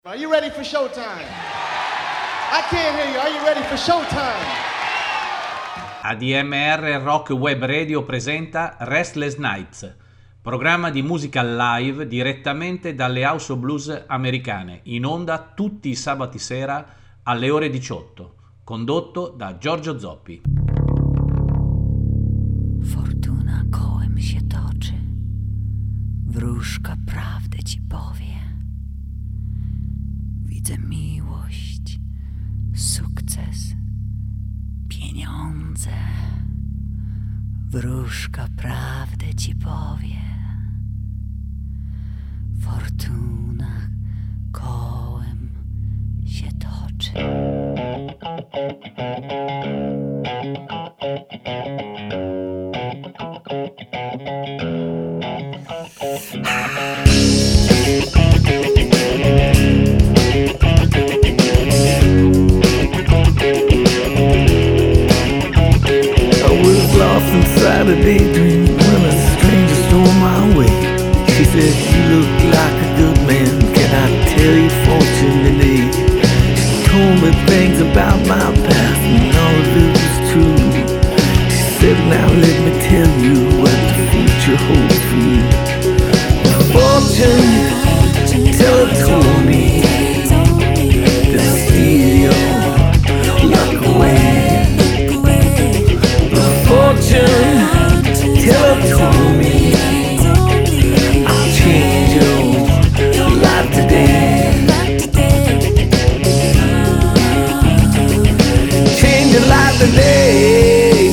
Are you ready for showtime? I can't hear you. Are you ready for showtime? ADMR Rock Web Radio presenta Restless Nights, programma di musica live direttamente dalle House of Blues americane, in onda tutti i sabati sera alle ore 18, condotto da Giorgio Zoppi. Fortuna kołem się toczy, wróżka prawdę ci powie. Widzę miłość, sukces, pieniądze. Wróżka prawdę ci powie. Fortuna kołem się toczy. Inside a daydream when a stranger stole my way. She said, "You look like a good man. Can I tell your fortune today?" She told me things about my past and all of it was true. She said, "Now let me tell you what the future holds for you." The fortune teller told me to steal your luck away. Fortune teller told me I'll change your life today. Change your life today.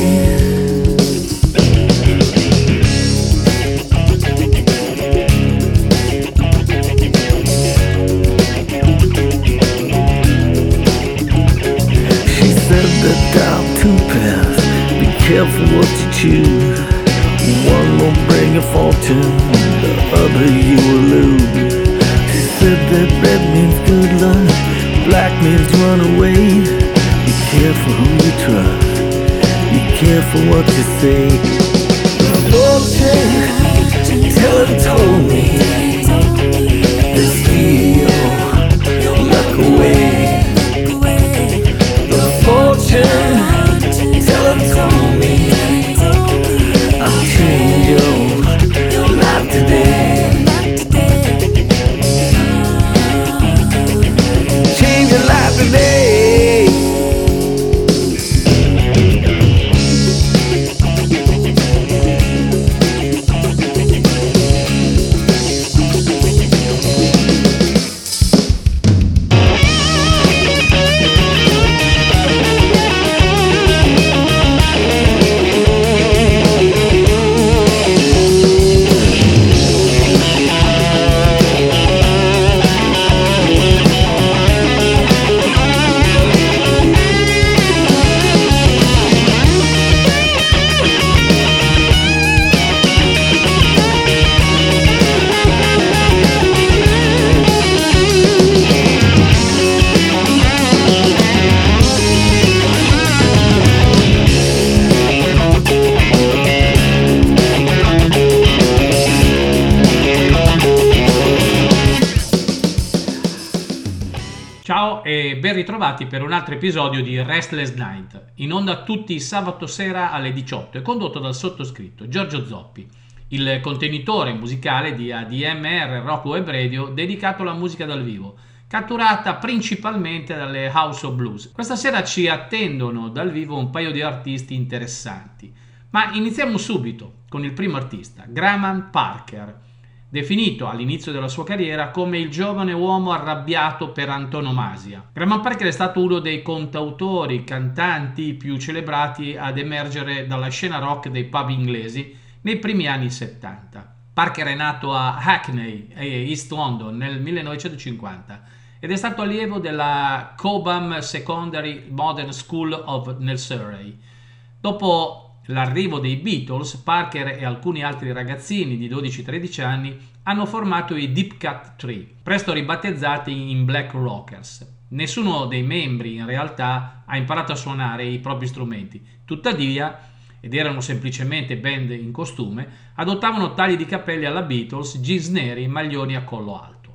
She said that I'll too pass. Careful what you choose. One will bring a fortune, the other you will lose. She said that red means good luck, black means run away. Be careful who you trust, be careful what you say. The fortune teller told me to steal your luck away. The fortune teller told me I'll change your life today. Change your life today. Ciao e ben ritrovati per un altro episodio di Restless Night, in onda tutti i sabato sera alle 18 e condotto dal sottoscritto Giorgio Zoppi, il contenitore musicale di ADMR Rock Web Radio dedicato alla musica dal vivo, catturata principalmente dalle House of Blues. Questa sera ci attendono dal vivo un paio di artisti interessanti, ma iniziamo subito con il primo artista, Graham Parker, definito all'inizio della sua carriera come il giovane uomo arrabbiato per antonomasia. Graham Parker è stato uno dei cantautori, cantanti più celebrati ad emergere dalla scena rock dei pub inglesi nei primi anni 70. Parker è nato a Hackney, East London, nel 1950 ed è stato allievo della Cobham Secondary Modern School nel Surrey. Dopo l'arrivo dei Beatles, Parker e alcuni altri ragazzini di 12-13 anni hanno formato i Deep Cut Tree, presto ribattezzati in Black Rockers. Nessuno dei membri in realtà ha imparato a suonare i propri strumenti, tuttavia ed erano semplicemente band in costume, adottavano tagli di capelli alla Beatles, jeans neri e maglioni a collo alto.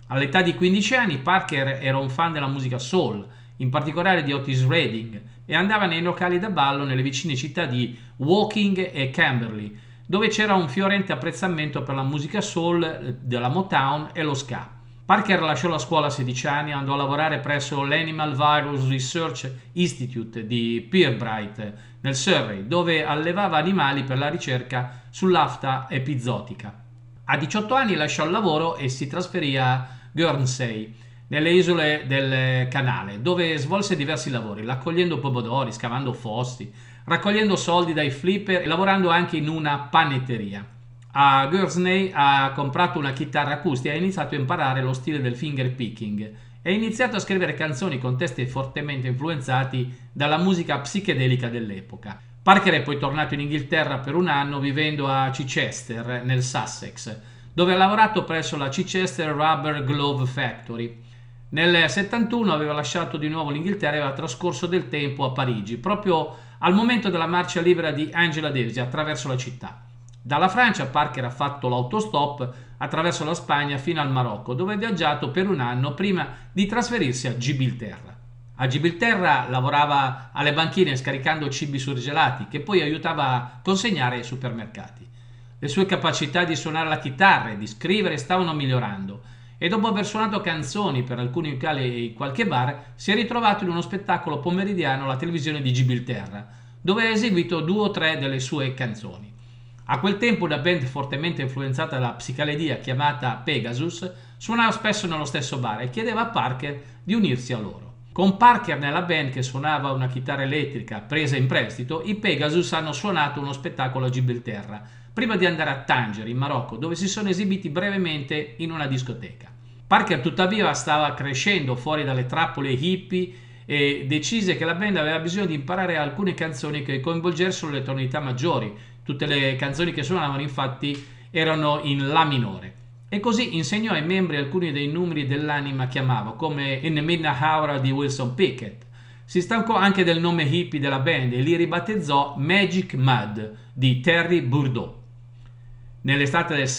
All'età di 15 anni Parker era un fan della musica soul, in particolare di Otis Redding, e andava nei locali da ballo nelle vicine città di Woking e Camberley, dove c'era un fiorente apprezzamento per la musica soul, della Motown e lo ska. Parker lasciò la scuola a 16 anni e andò a lavorare presso l'Animal Virus Research Institute di Pirbright, nel Surrey, dove allevava animali per la ricerca sull'afta epizootica. A 18 anni lasciò il lavoro e si trasferì a Guernsey, nelle isole del Canale, dove svolse diversi lavori, raccogliendo pomodori, scavando fossi, raccogliendo soldi dai flipper e lavorando anche in una panetteria. A Guernsey ha comprato una chitarra acustica e ha iniziato a imparare lo stile del finger picking e ha iniziato a scrivere canzoni con testi fortemente influenzati dalla musica psichedelica dell'epoca. Parker è poi tornato in Inghilterra per un anno, vivendo a Chichester, nel Sussex, dove ha lavorato presso la Chichester Rubber Glove Factory. Nel 71 aveva lasciato di nuovo l'Inghilterra e aveva trascorso del tempo a Parigi, proprio al momento della marcia libera di Angela Davis attraverso la città. Dalla Francia Parker ha fatto l'autostop attraverso la Spagna fino al Marocco, dove ha viaggiato per un anno prima di trasferirsi a Gibilterra. A Gibilterra lavorava alle banchine scaricando cibi surgelati che poi aiutava a consegnare ai supermercati. Le sue capacità di suonare la chitarra e di scrivere stavano migliorando e dopo aver suonato canzoni per alcuni locali e qualche bar si è ritrovato in uno spettacolo pomeridiano alla televisione di Gibilterra, dove ha eseguito 2 o 3 delle sue canzoni. A quel tempo una band fortemente influenzata dalla psichedelia chiamata Pegasus suonava spesso nello stesso bar e chiedeva a Parker di unirsi a loro. Con Parker nella band, che suonava una chitarra elettrica presa in prestito, i Pegasus hanno suonato uno spettacolo a Gibilterra, prima di andare a Tanger, in Marocco, dove si sono esibiti brevemente in una discoteca. Parker tuttavia stava crescendo fuori dalle trappole hippie e decise che la band aveva bisogno di imparare alcune canzoni che coinvolgessero le tonalità maggiori. Tutte le canzoni che suonavano infatti erano in La minore. E così insegnò ai membri alcuni dei numeri dell'anima che amava, come In the Midnight Hour di Wilson Pickett. Si stancò anche del nome hippie della band e li ribattezzò Magic Mud di Terry Bourdeau. Nell'estate del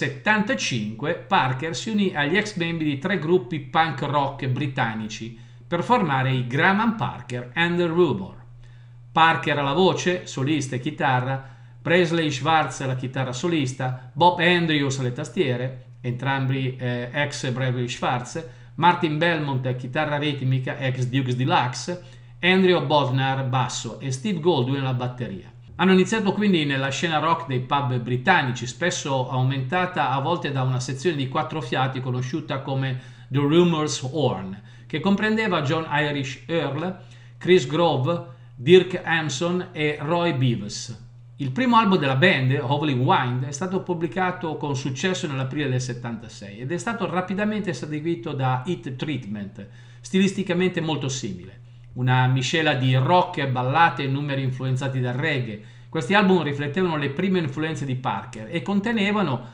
75 Parker si unì agli ex membri di 3 gruppi punk rock britannici per formare i Graham Parker and the Rumor. Parker alla voce, solista e chitarra, Presley Schwartz alla chitarra solista, Bob Andrews alle tastiere, entrambi ex Presley Schwartz, Martin Belmont chitarra ritmica, ex Dukes Deluxe, Andrew Bodnar basso e Steve Goldwyn alla batteria. Hanno iniziato quindi nella scena rock dei pub britannici, spesso aumentata a volte da una sezione di 4 fiati conosciuta come The Rumors Horn, che comprendeva John Irish Earl, Chris Grove, Dirk Hampson e Roy Beavis. Il primo album della band, Howling Wind, è stato pubblicato con successo nell'aprile del 76 ed è stato rapidamente seguito da Heat Treatment, stilisticamente molto simile. Una miscela di rock, ballate e numeri influenzati dal reggae. Questi album riflettevano le prime influenze di Parker e contenevano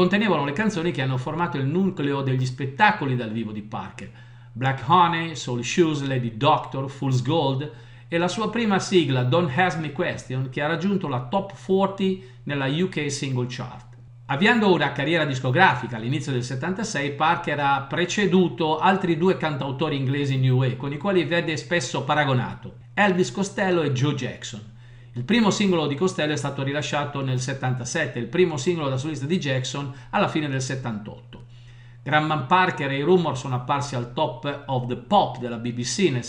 le canzoni che hanno formato il nucleo degli spettacoli dal vivo di Parker: Black Honey, Soul Shoes, Lady Doctor, Fool's Gold e la sua prima sigla Don't Ask Me Question, che ha raggiunto la top 40 nella UK Single Chart. Avviando una carriera discografica all'inizio del 76, Parker ha preceduto altri 2 cantautori inglesi new wave con i quali vede spesso paragonato, Elvis Costello e Joe Jackson. Il primo singolo di Costello è stato rilasciato nel 77, il primo singolo da solista di Jackson alla fine del 78. Graham Parker e i Rumor sono apparsi al Top of the Pop della BBC nel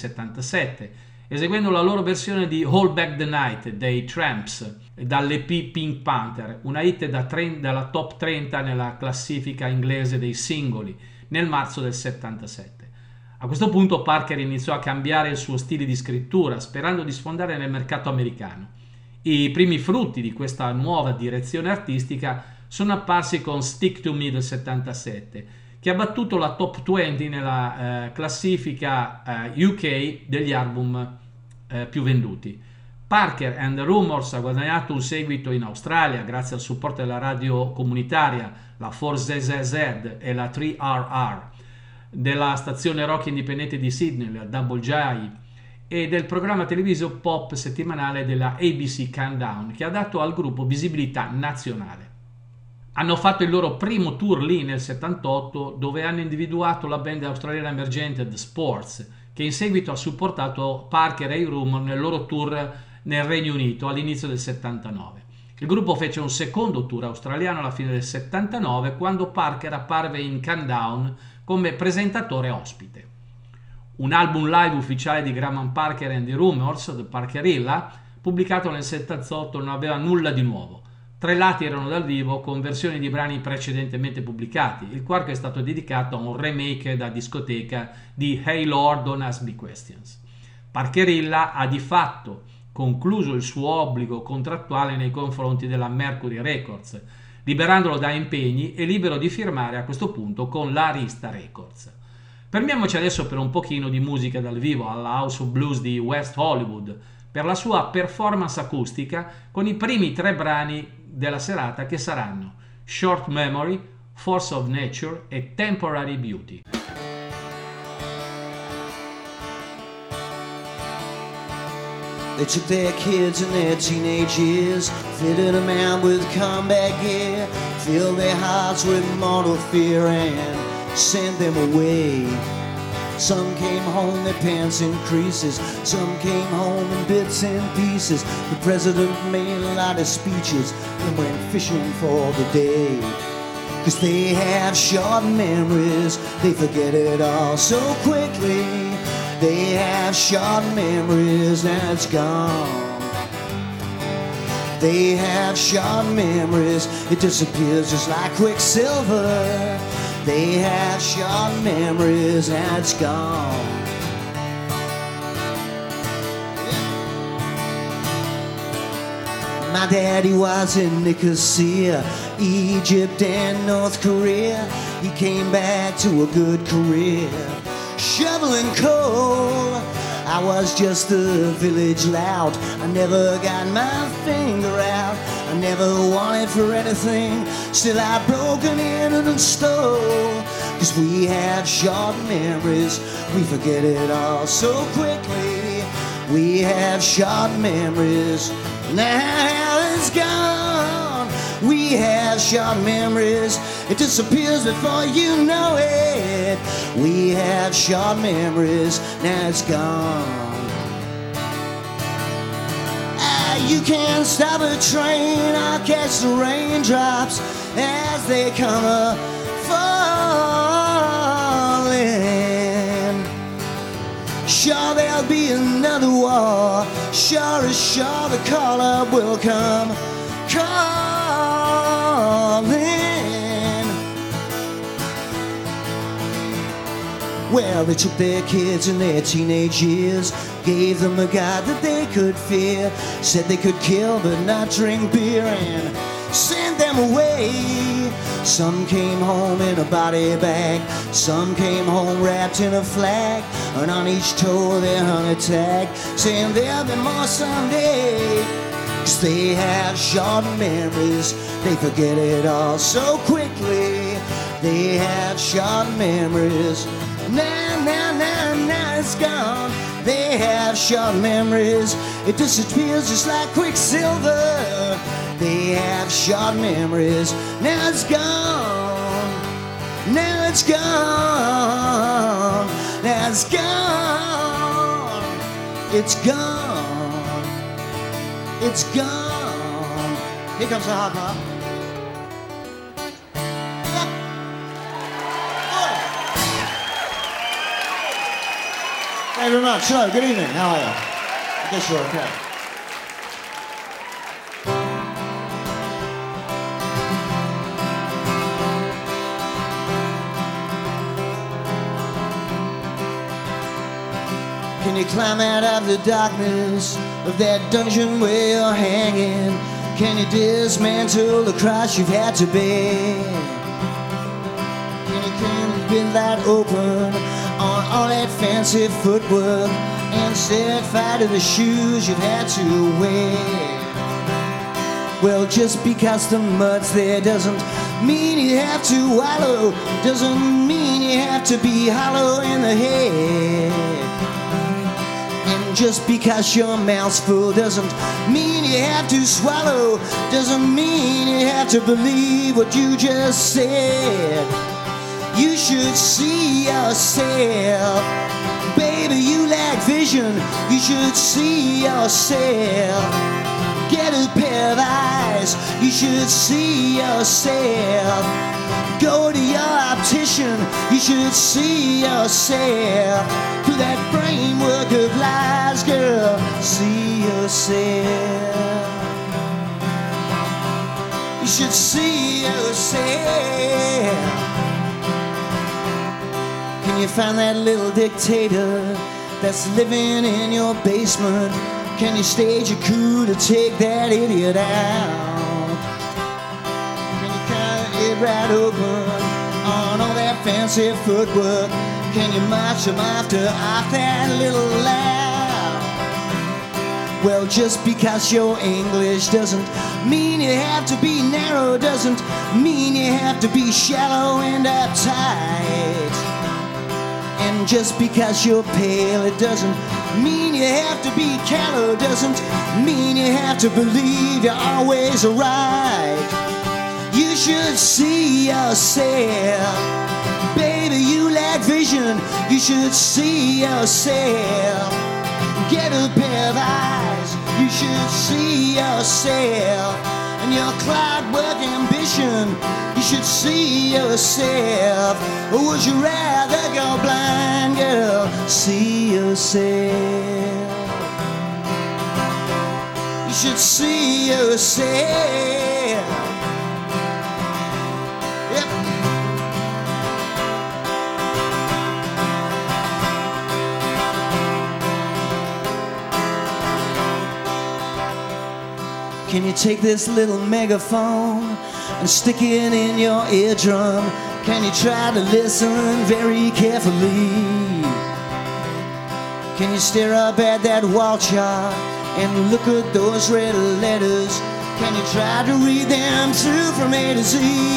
77, eseguendo la loro versione di Hold Back the Night dei Tramps dall'EP Pink Panther, una hit dalla top 30 nella classifica inglese dei singoli nel marzo del 77. A questo punto Parker iniziò a cambiare il suo stile di scrittura, sperando di sfondare nel mercato americano. I primi frutti di questa nuova direzione artistica sono apparsi con Stick to Me del 77, che ha battuto la top 20 nella classifica UK degli album più venduti. Parker and the Rumors ha guadagnato un seguito in Australia grazie al supporto della radio comunitaria, la 4ZZZ e la 3RR, della stazione rock indipendente di Sydney, la Double J, e del programma televisivo pop settimanale della ABC Countdown, che ha dato al gruppo visibilità nazionale. Hanno fatto il loro primo tour lì nel 78, dove hanno individuato la band australiana emergente The Sports, che in seguito ha supportato Parker e i Rumor nel loro tour nel Regno Unito all'inizio del 79. Il gruppo fece un secondo tour australiano alla fine del 79, quando Parker apparve in Countdown come presentatore ospite. Un album live ufficiale di Graham Parker and the Rumors, The Parkerilla, pubblicato nel 78, non aveva nulla di nuovo. 3 lati erano dal vivo con versioni di brani precedentemente pubblicati. Il quarto è stato dedicato a un remake da discoteca di Hey Lord, Don't Ask Me Questions. Parkerilla ha di fatto concluso il suo obbligo contrattuale nei confronti della Mercury Records, liberandolo da impegni e libero di firmare a questo punto con la Arista Records. Fermiamoci adesso per un pochino di musica dal vivo alla House of Blues di West Hollywood per la sua performance acustica con i primi 3 brani della serata, che saranno Short Memory, Force of Nature e Temporary Beauty. They took their kids in their teenage years, fitted them out with combat gear, filled their hearts with mortal fear and sent them away. Some came home, their pants in creases. Some came home in bits and pieces. The president made a lot of speeches and went fishing for the day. 'Cause they have short memories, they forget it all so quickly. They have short memories, now it's gone. They have short memories, it disappears just like quicksilver. They have short memories, and it's gone. My daddy was in Nicosia, Egypt and North Korea. He came back to a good career, shoveling coal. I was just a village lout. I never got my finger out. I never wanted for anything. Still I broken in and stole. 'Cause we have short memories, we forget it all so quickly. We have short memories, now it's gone. We have short memories, it disappears before you know it. We have short memories, now it's gone. You can't stop a train or catch the raindrops as they come a-falling. Sure, there'll be another war. Sure as sure the call-up will come calling. Well, they took their kids in their teenage years, gave them a God that they could fear, said they could kill but not drink beer, and sent them away. Some came home in a body bag, some came home wrapped in a flag, and on each toe they hung a tag, saying there'll be more someday. 'Cause they have short memories, they forget it all so quickly. They have short memories, now it's gone. They have short memories, it disappears just like quicksilver. They have short memories, now it's gone. Now it's gone. Now it's gone. It's gone. It's gone. Here comes the hot pop. Thank you very much. Hello, good evening. How are you? I guess you're okay. Can you climb out of the darkness of that dungeon where you're hanging? Can you dismantle the cross you've had to bear? Can you keep that open on all that fancy footwork and set fire to the shoes you've had to wear? Well, just because the mud's there doesn't mean you have to wallow, doesn't mean you have to be hollow in the head. And And just because your mouth's full doesn't mean you have to swallow, doesn't mean you have to believe what you just said. You should see yourself. Baby, you lack vision. You should see yourself. Get a pair of eyes. You should see yourself. Go to your optician. You should see yourself. Through that framework of lies, girl, see yourself. You should see yourself. Can you find that little dictator that's living in your basement? Can you stage a coup to take that idiot out? Can you cut it right open on all that fancy footwork? Can you march him off that little laugh? Well, just because you're English doesn't mean you have to be narrow, doesn't mean you have to be shallow and uptight. And just because you're pale, it doesn't mean you have to be callow, doesn't mean you have to believe you're always right. You should see yourself. Baby, you lack vision. You should see yourself. Get a pair of eyes. You should see yourself. And your clockwork ambition, you should see yourself. Or would you rather go blind, girl? See yourself. You should see yourself. Yep. Can you take this little megaphone and stick it in your eardrum? Can you try to listen very carefully? Can you stare up at that wall chart and look at those red letters? Can you try to read them through from A to Z?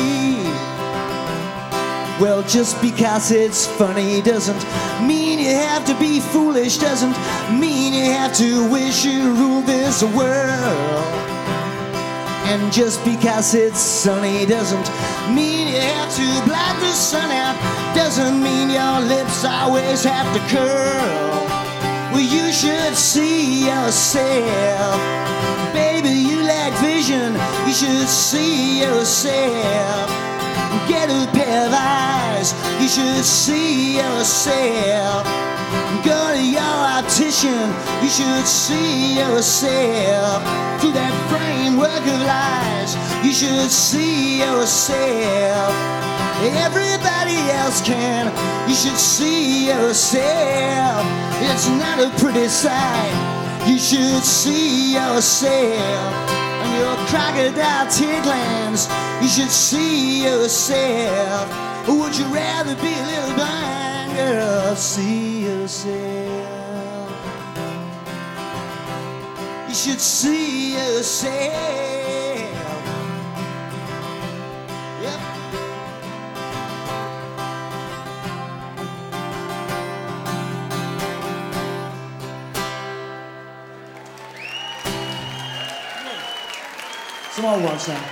Well, just because it's funny doesn't mean you have to be foolish, doesn't mean you have to wish you ruled this world. And just because it's sunny doesn't mean you have to blot the sun out, doesn't mean your lips always have to curl. Well, you should see yourself. Baby, you lack vision. You should see yourself. Get a pair of eyes. You should see yourself. Go to your optician. You should see yourself. Through that framework of lies, you should see yourself. Everybody else can. You should see yourself. It's not a pretty sight. You should see yourself. And your crocodile tear glands, you should see yourself. Or would you rather be a little blind, girl? See yourself. You should see yourself. Yep. Some more ones now.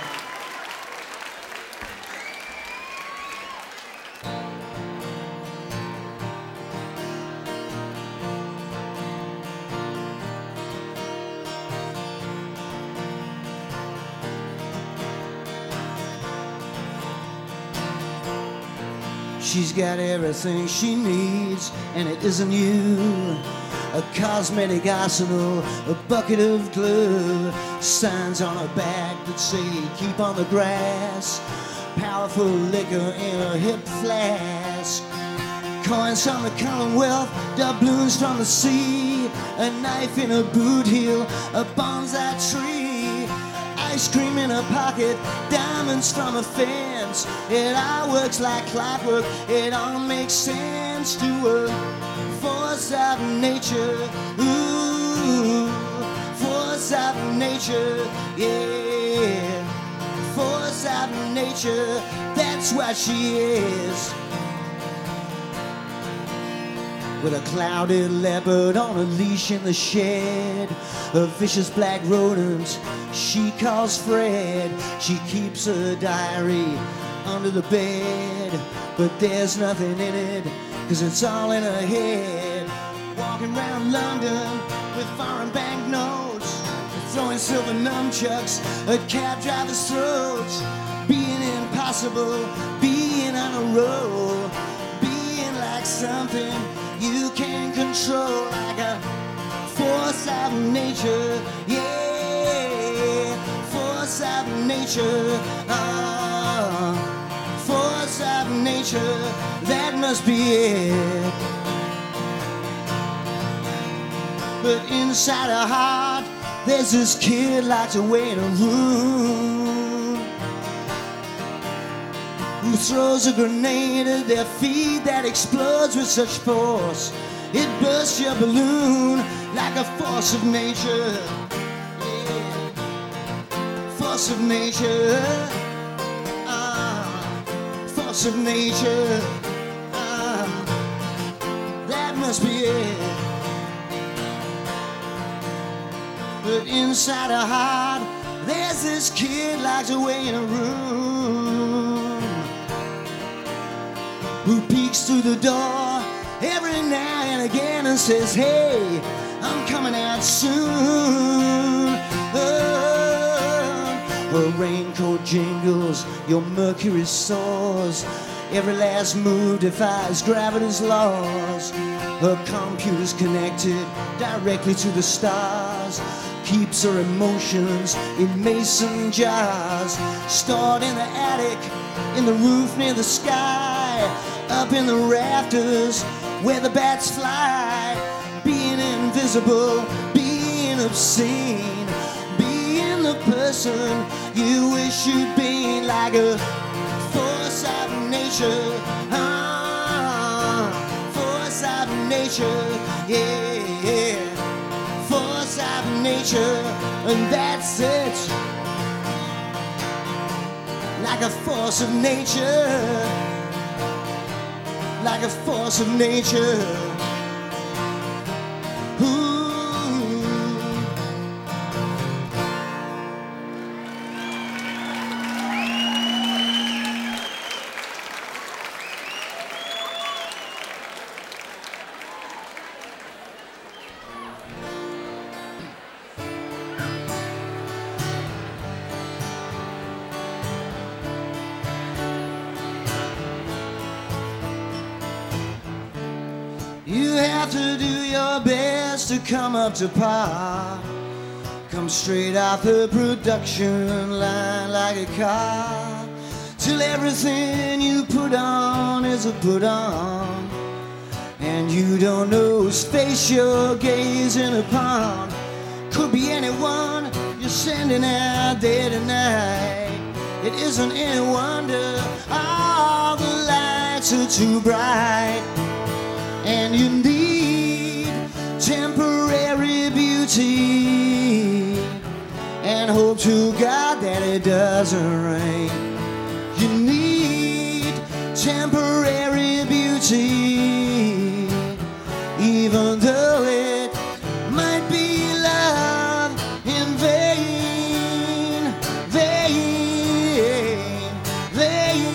She's got everything she needs, and it isn't you. A cosmetic arsenal, a bucket of glue, signs on her back that say keep on the grass, powerful liquor in a hip flask, coins from the Commonwealth, doubloons from the sea, a knife in a boot heel, a bonsai tree, ice cream in her pocket, diamonds from a fence. It all works like clockwork, it all makes sense to her. Force of nature, ooh, force of nature, yeah. Force of nature, that's what she is. with a clouded leopard on a leash in the shed. A vicious black rodent she calls Fred. She keeps a diary under the bed, but there's nothing in it, 'cause it's all in her head. Walking around London with foreign banknotes, throwing silver nunchucks at cab drivers' throats. Being impossible, being on a roll, being like something you can't control, like a force of nature, yeah, force of nature, force of nature, that must be it. But inside her heart, there's this kid locked away in a room, who throws a grenade at their feet that explodes with such force it bursts your balloon like a force of nature, yeah. Force of nature, force of nature, that must be it. But inside her heart, there's this kid locked away in a room, who peeks through the door every now and again and says, hey, I'm coming out soon. Her raincoat jingles, your mercury soars, every last move defies gravity's laws. Her computer's connected directly to the stars, keeps her emotions in mason jars, stored in the attic, in the roof near the sky, up in the rafters where the bats fly. Being invisible, being obscene, being the person you wish you'd be, like a force of nature, force of nature, yeah, force of nature, and that's it. Like a force of nature, like a force of nature. Ooh. You have to do your best to come up to par, come straight off the production line like a car, till everything you put on is a put on, and you don't know whose face you're gazing upon. Could be anyone you're sending out there tonight. It isn't any wonder all the lights are too bright. And you need temporary beauty, and hope to God that it doesn't rain. You need temporary beauty, even though it might be love in vain, vain, vain,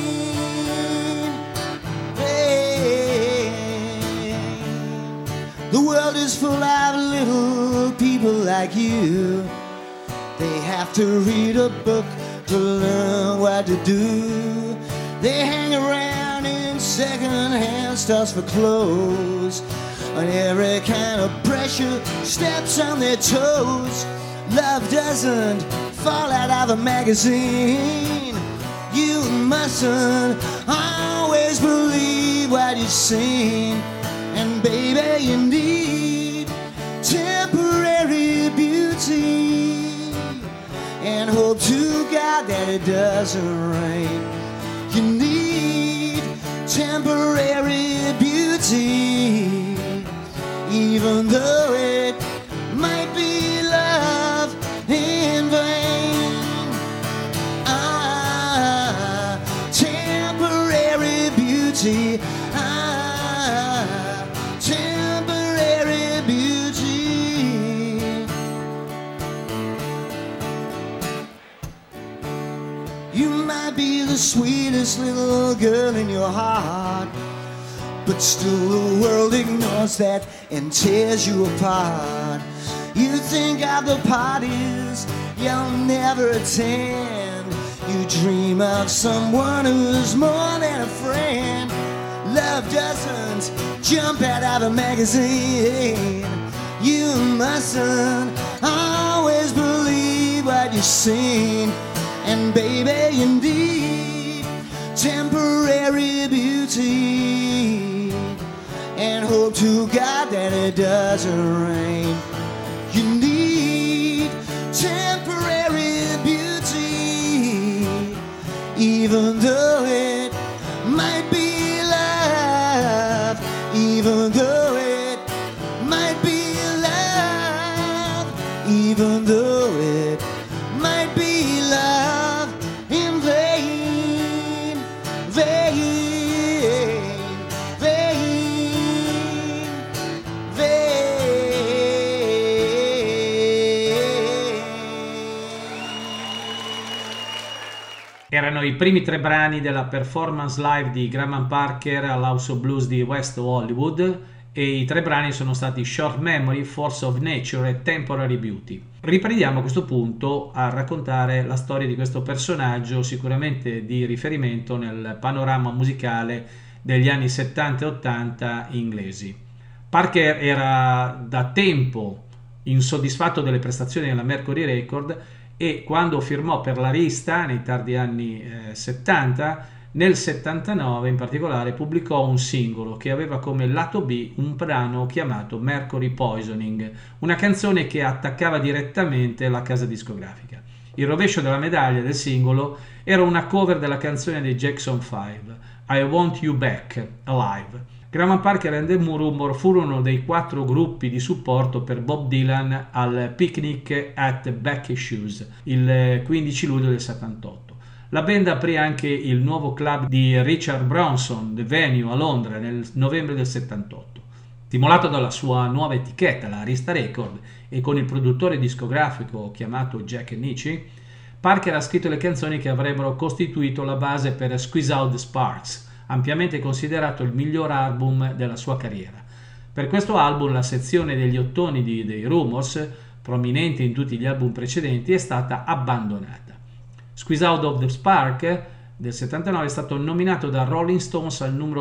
vain. The world is full of little people like you. They have to read a book to learn what to do. They hang around in second-hand stores for clothes, and every kind of pressure steps on their toes. Love doesn't fall out of a magazine. You mustn't always believe what you've seen. And baby, you need temporary beauty, and hope to God that it doesn't rain. You need temporary beauty, even though it might be love in vain. Temporary beauty, temporary sweetest little girl in your heart. But still the world ignores that and tears you apart. You think of the parties you'll never attend. You dream of someone who's more than a friend. Love doesn't jump out of a magazine. You mustn't always believe what you've seen. And baby, you need temporary beauty, and hope to God that it doesn't rain. You need temporary beauty, even though it might be love, even though it might be love, even though it might be love in vain, vain, vain, vain. Erano i primi 3 brani della performance live di Graham Parker all'House of Blues di West Hollywood, e i 3 brani sono stati Short Memory, Force of Nature e Temporary Beauty. Riprendiamo a questo punto a raccontare la storia di questo personaggio, sicuramente di riferimento nel panorama musicale degli anni 70 e 80 inglesi. Parker era da tempo insoddisfatto delle prestazioni della Mercury Record, e quando firmò per l'Arista nei tardi anni 70, nel 79 in particolare pubblicò un singolo che aveva come lato B un brano chiamato Mercury Poisoning, una canzone che attaccava direttamente la casa discografica. Il rovescio della medaglia del singolo era una cover della canzone dei Jackson 5, I Want You Back Alive. Graham Parker e The Rumor furono dei 4 gruppi di supporto per Bob Dylan al Picnic at Becky Shoes il 15 luglio del 78. La band aprì anche il nuovo club di Richard Branson, The Venue, a Londra nel novembre del 78. Stimolato dalla sua nuova etichetta, la Arista Record, e con il produttore discografico chiamato Jack Nitzsche, Parker ha scritto le canzoni che avrebbero costituito la base per Squeeze Out the Sparks, ampiamente considerato il miglior album della sua carriera. Per questo album la sezione degli ottoni dei Rumors, prominente in tutti gli album precedenti, è stata abbandonata. Squeeze Out of the Spark del 79 è stato nominato da Rolling Stones al numero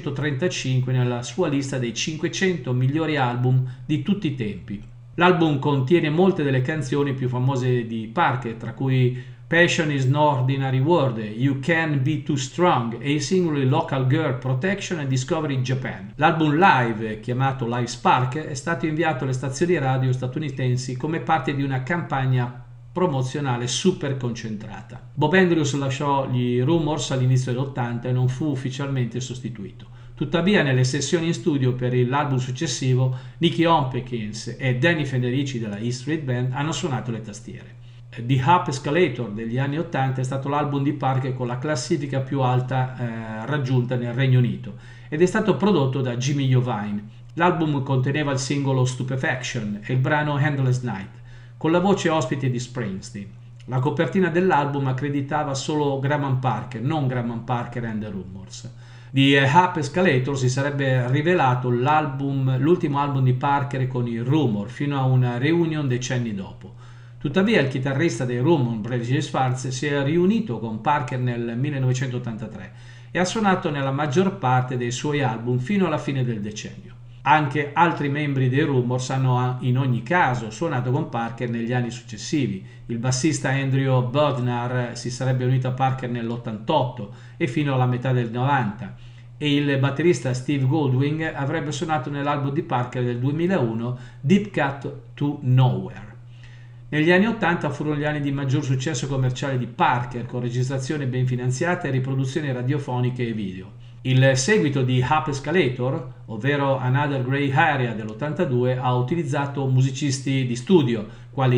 335 nella sua lista dei 500 migliori album di tutti i tempi. L'album contiene molte delle canzoni più famose di Parker, tra cui Passion is no ordinary word, You Can Be Too Strong e i singoli Local Girl Protection e Discovery Japan. L'album live, chiamato Live Spark, è stato inviato alle stazioni radio statunitensi come parte di una campagna promozionale super concentrata. Bob Andrews lasciò gli Rumors all'inizio dell'80 e non fu ufficialmente sostituito. Tuttavia, nelle sessioni in studio per l'album successivo, Nicky Hopkins e Danny Federici della E Street Band hanno suonato le tastiere. The Up Escalator degli anni 80 è stato l'album di Parker con la classifica più alta raggiunta nel Regno Unito ed è stato prodotto da Jimmy Iovine. L'album conteneva il singolo Stupefaction e il brano Endless Night, con la voce ospite di Springsteen. La copertina dell'album accreditava solo Graham Parker, non Graham Parker and the Rumors. The Up Escalator si sarebbe rivelato l'ultimo album di Parker con i Rumor, fino a una reunion decenni dopo. Tuttavia il chitarrista dei Rumor, Brady Schwartz, si è riunito con Parker nel 1983 e ha suonato nella maggior parte dei suoi album fino alla fine del decennio. Anche altri membri dei Rumors hanno in ogni caso suonato con Parker negli anni successivi. Il bassista Andrew Bodnar si sarebbe unito a Parker nell'88 e fino alla metà del 90, e il batterista Steve Goldwing avrebbe suonato nell'album di Parker del 2001 Deep Cut to Nowhere. Negli anni 80 furono gli anni di maggior successo commerciale di Parker, con registrazioni ben finanziate e riproduzioni radiofoniche e video. Il seguito di Up Escalator, ovvero Another Grey Area dell'82, ha utilizzato musicisti di studio quali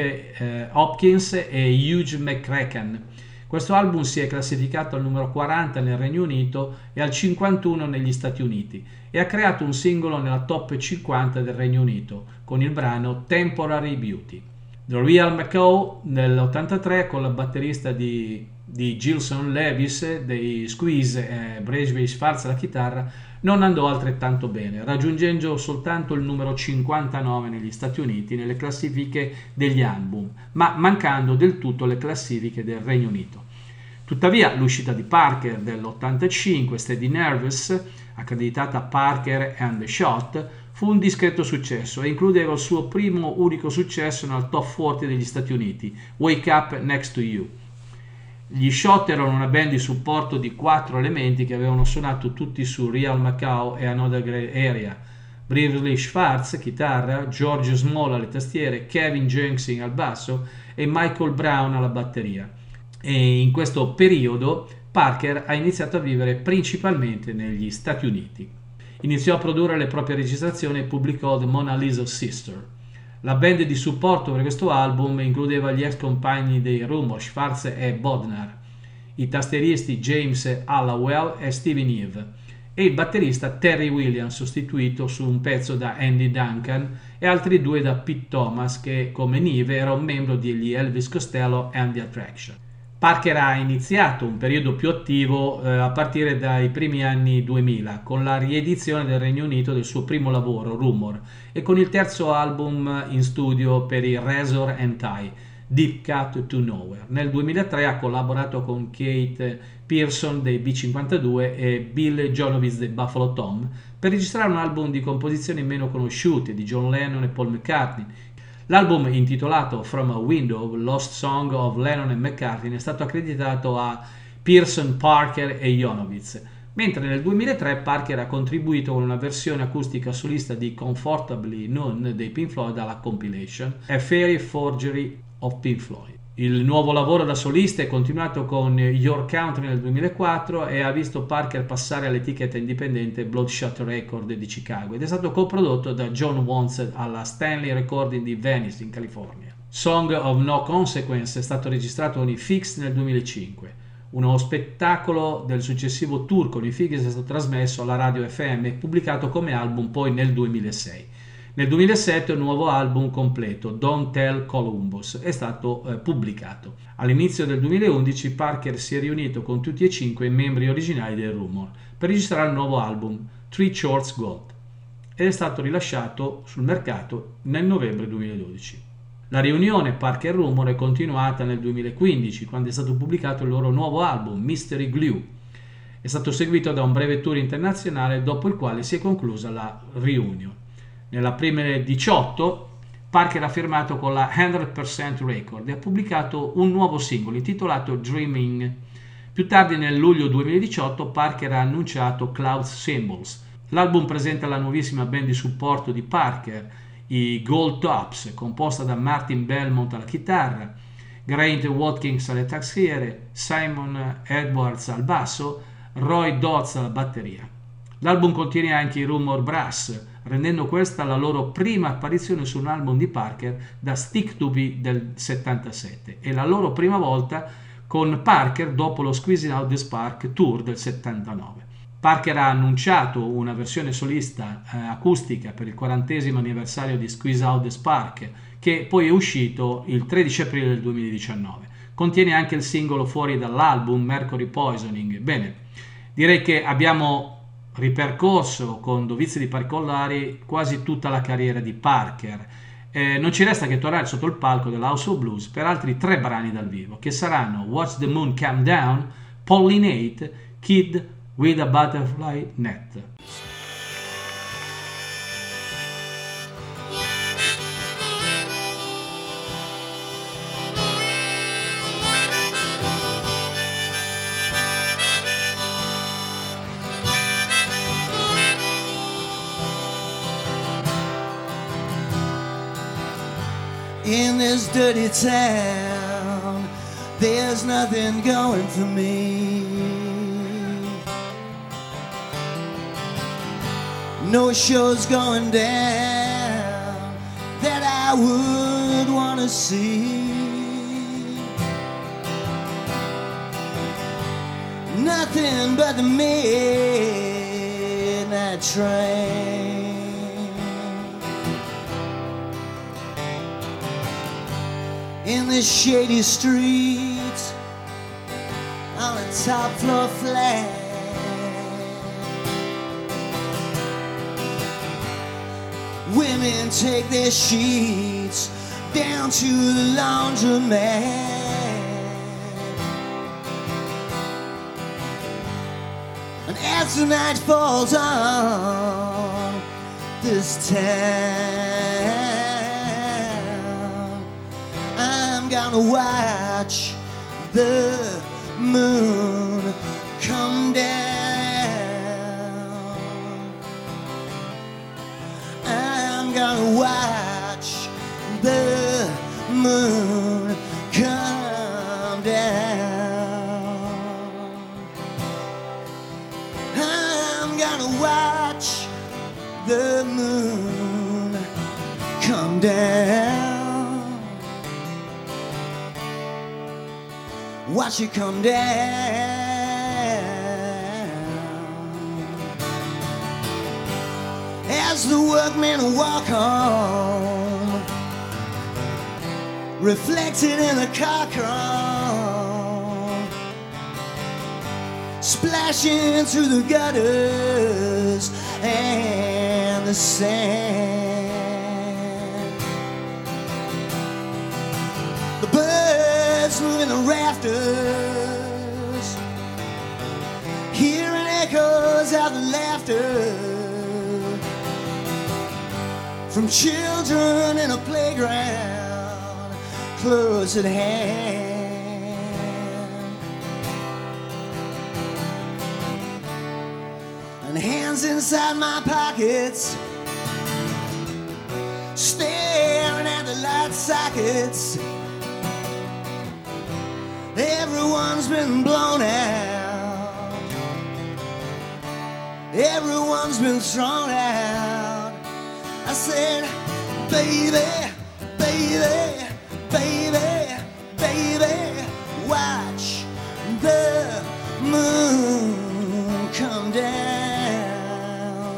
Nick Hopkins e Hugh McCracken. Questo album si è classificato al numero 40 nel Regno Unito e al 51 negli Stati Uniti e ha creato un singolo nella top 50 del Regno Unito con il brano Temporary Beauty. The Real McCall nell'83 con la batterista di di Gilson Levis, dei Squeeze e Brezhnev Schwarz alla chitarra, non andò altrettanto bene, raggiungendo soltanto il numero 59 negli Stati Uniti nelle classifiche degli album, ma mancando del tutto le classifiche del Regno Unito. Tuttavia l'uscita di Parker dell'85, Steady Nervous, accreditata a Parker and the Shot, fu un discreto successo e includeva il suo primo unico successo nel top 40 degli Stati Uniti, Wake Up Next to You. Gli Shot erano una band di supporto di 4 elementi che avevano suonato tutti su Real Macau e Another Grey Area. Brezhnev Schwarz, chitarra, George Small alle tastiere, Kevin Jensen al basso e Michael Brown alla batteria. E in questo periodo Parker ha iniziato a vivere principalmente negli Stati Uniti. Iniziò a produrre le proprie registrazioni e pubblicò The Mona Lisa Sister. La band di supporto per questo album includeva gli ex compagni dei Rumour, Schwarz e Bodnar, i tastieristi James Hallowell e Steven Eve e il batterista Terry Williams, sostituito su un pezzo da Andy Duncan, e altri 2 da Pete Thomas, che come Neve era un membro degli Elvis Costello and the Attraction. Parker ha iniziato un periodo più attivo a partire dai primi anni 2000 con la riedizione del Regno Unito del suo primo lavoro, Rumour, e con il terzo album in studio per i Razor and Tie, Deep Cut to Nowhere. Nel 2003 ha collaborato con Kate Pearson dei B52 e Bill Jonovitz dei Buffalo Tom per registrare un album di composizioni meno conosciute di John Lennon e Paul McCartney. L'album, intitolato From a Window, Lost Song of Lennon and McCartney, è stato accreditato a Pearson, Parker e Jonovitz, mentre nel 2003 Parker ha contribuito con una versione acustica solista di Comfortably Numb dei Pink Floyd alla compilation A Fairy Forgery of Pink Floyd. Il nuovo lavoro da solista è continuato con Your Country nel 2004 e ha visto Parker passare all'etichetta indipendente Bloodshot Record di Chicago ed è stato coprodotto da John Wantz alla Stanley Recording di Venice in California. Song of No Consequence è stato registrato con i Fix nel 2005. Uno spettacolo del successivo tour con i Fix è stato trasmesso alla radio FM e pubblicato come album poi nel 2006. Nel 2007 un nuovo album completo, Don't Tell Columbus, è stato pubblicato. All'inizio del 2011 Parker si è riunito con tutti e 5 i membri originali del Rumour per registrare il nuovo album, Three Shorts Gold, ed è stato rilasciato sul mercato nel novembre 2012. La riunione Parker Rumour è continuata nel 2015, quando è stato pubblicato il loro nuovo album, Mystery Glue. È stato seguito da un breve tour internazionale, dopo il quale si è conclusa la riunione. Nell'aprile 18 Parker ha firmato con la 100% Record e ha pubblicato un nuovo singolo intitolato Dreaming. Più tardi, nel luglio 2018, Parker ha annunciato Cloud Symbols. L'album presenta la nuovissima band di supporto di Parker, i Gold Tops, composta da Martin Belmont alla chitarra, Grant Watkins alle tastiere, Simon Edwards al basso, Roy Dodds alla batteria. L'album contiene anche i Rumour Brass, rendendo questa la loro prima apparizione su un album di Parker da Stick to Be del 77 e la loro prima volta con Parker dopo lo Squeezing Out the Spark Tour del 79. Parker ha annunciato una versione solista acustica per il 40° anniversario di Squeeze Out the Spark, che poi è uscito il 13 aprile del 2019. Contiene anche il singolo fuori dall'album, Mercury Poisoning. Bene, direi che abbiamo ripercorso con dovizie di particolari quasi tutta la carriera di Parker. Non ci resta che tornare sotto il palco dell'House of Blues per altri 3 brani dal vivo, che saranno Watch the Moon Come Down, Pollinate, Kid with a Butterfly Net. In this dirty town, there's nothing going for me. No shows going down that I would want to see. Nothing but the midnight train. In the shady streets, top floor flat. Women take their sheets down to the laundromat. And as the night falls on this town, I'm gonna watch the moon come down. I'm gonna watch the moon come down. I'm gonna watch the moon come down. Watch it come down. As the workmen walk home, reflected in the car chrome, splashing through the gutters and the sand. The birds moving the rafters, hearing echoes of the laughter from children in a playground close at hand. And hands inside my pockets, staring at the light sockets. Everyone's been blown out, everyone's been thrown out. I said, baby, baby, baby, baby, watch the moon come down.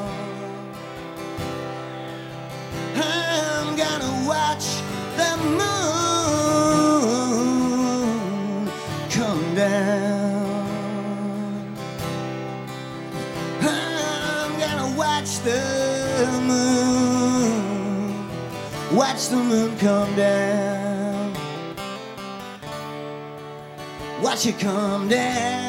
I'm gonna watch the moon come down. I'm gonna watch the moon, watch the moon come down. Watch it come down.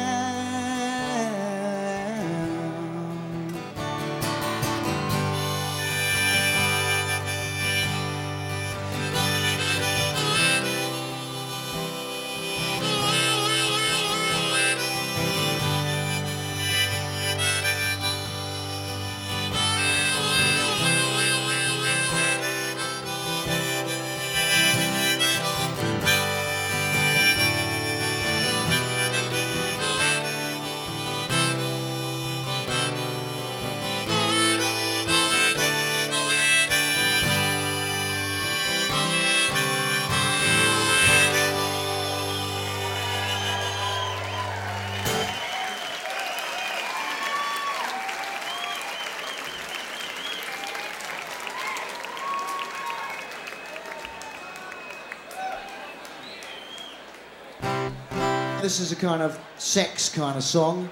This is a kind of sex kind of song.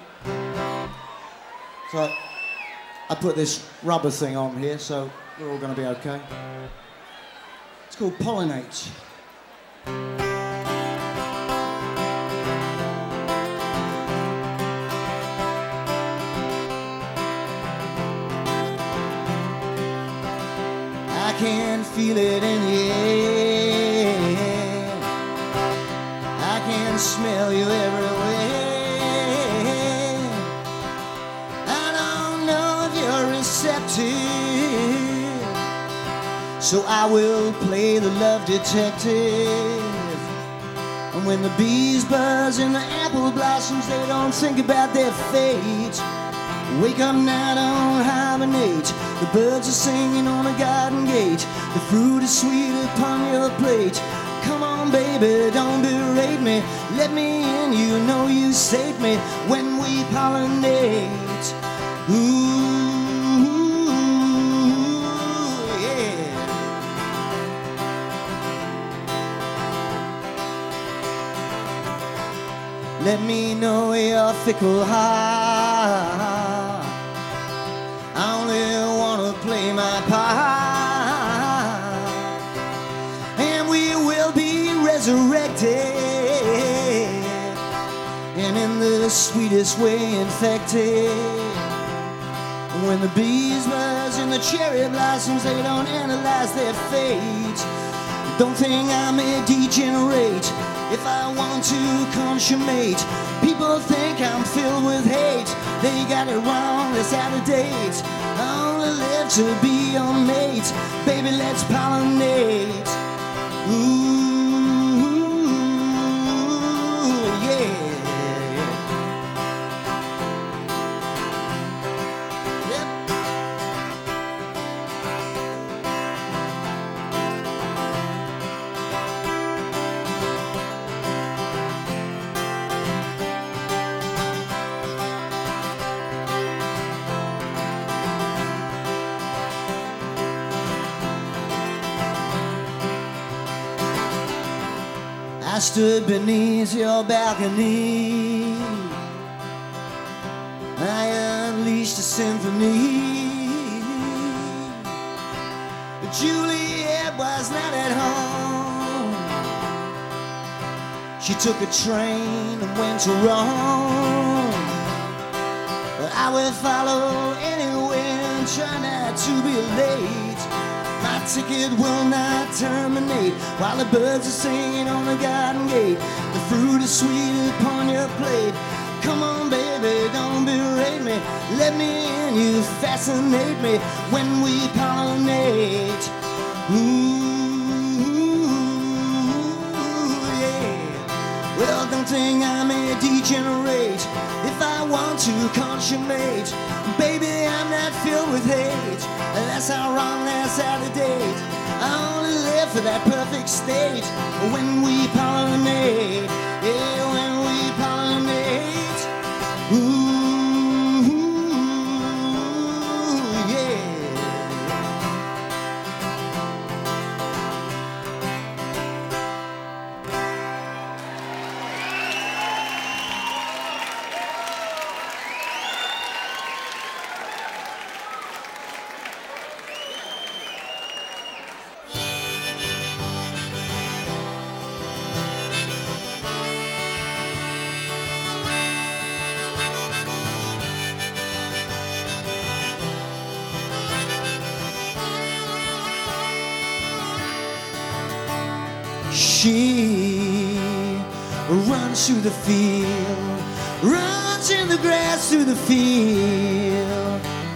So I put this rubber thing on here, so we're all going to be okay. It's called Pollinate. I can feel it in the air. I can smell you everywhere. I don't know if you're receptive, so I will play the love detective. And when the bees buzz in the apple blossoms, they don't think about their fate. Wake up now, don't hibernate. The birds are singing on a garden gate. The fruit is sweet upon your plate. Come on, baby, don't berate me. Let me in, you know you saved me when we pollinate. Ooh, yeah. let me know your fickle heart. I only wanna play my part, and we will be resurrected, and in the sweetest way infected. When the bees buzz and the cherry blossoms, they don't analyze their fate. Don't think I'm a degenerate if I want to consummate. People think I'm filled with hate. They got it wrong, it's out of date. I only live to be your mate. Baby, let's pollinate. Ooh, yeah. I stood beneath your balcony. I unleashed a symphony. But Juliet was not at home. She took a train and went to Rome. But I will follow anywhere and try not to be late. My ticket will not terminate while the birds are singing on the garden gate. The fruit is sweet upon your plate. Come on, baby, don't berate me. Let me in, you fascinate me when we pollinate. Ooh, yeah. Well, don't think I'm a degenerate if I want to consummate. Baby, I'm not filled with hate. That's how wrong, that's out of date. I only live for that perfect state when we pollinate. Yeah, when we pollinate. Ooh, yeah. She runs through the field, runs in the grass through the field.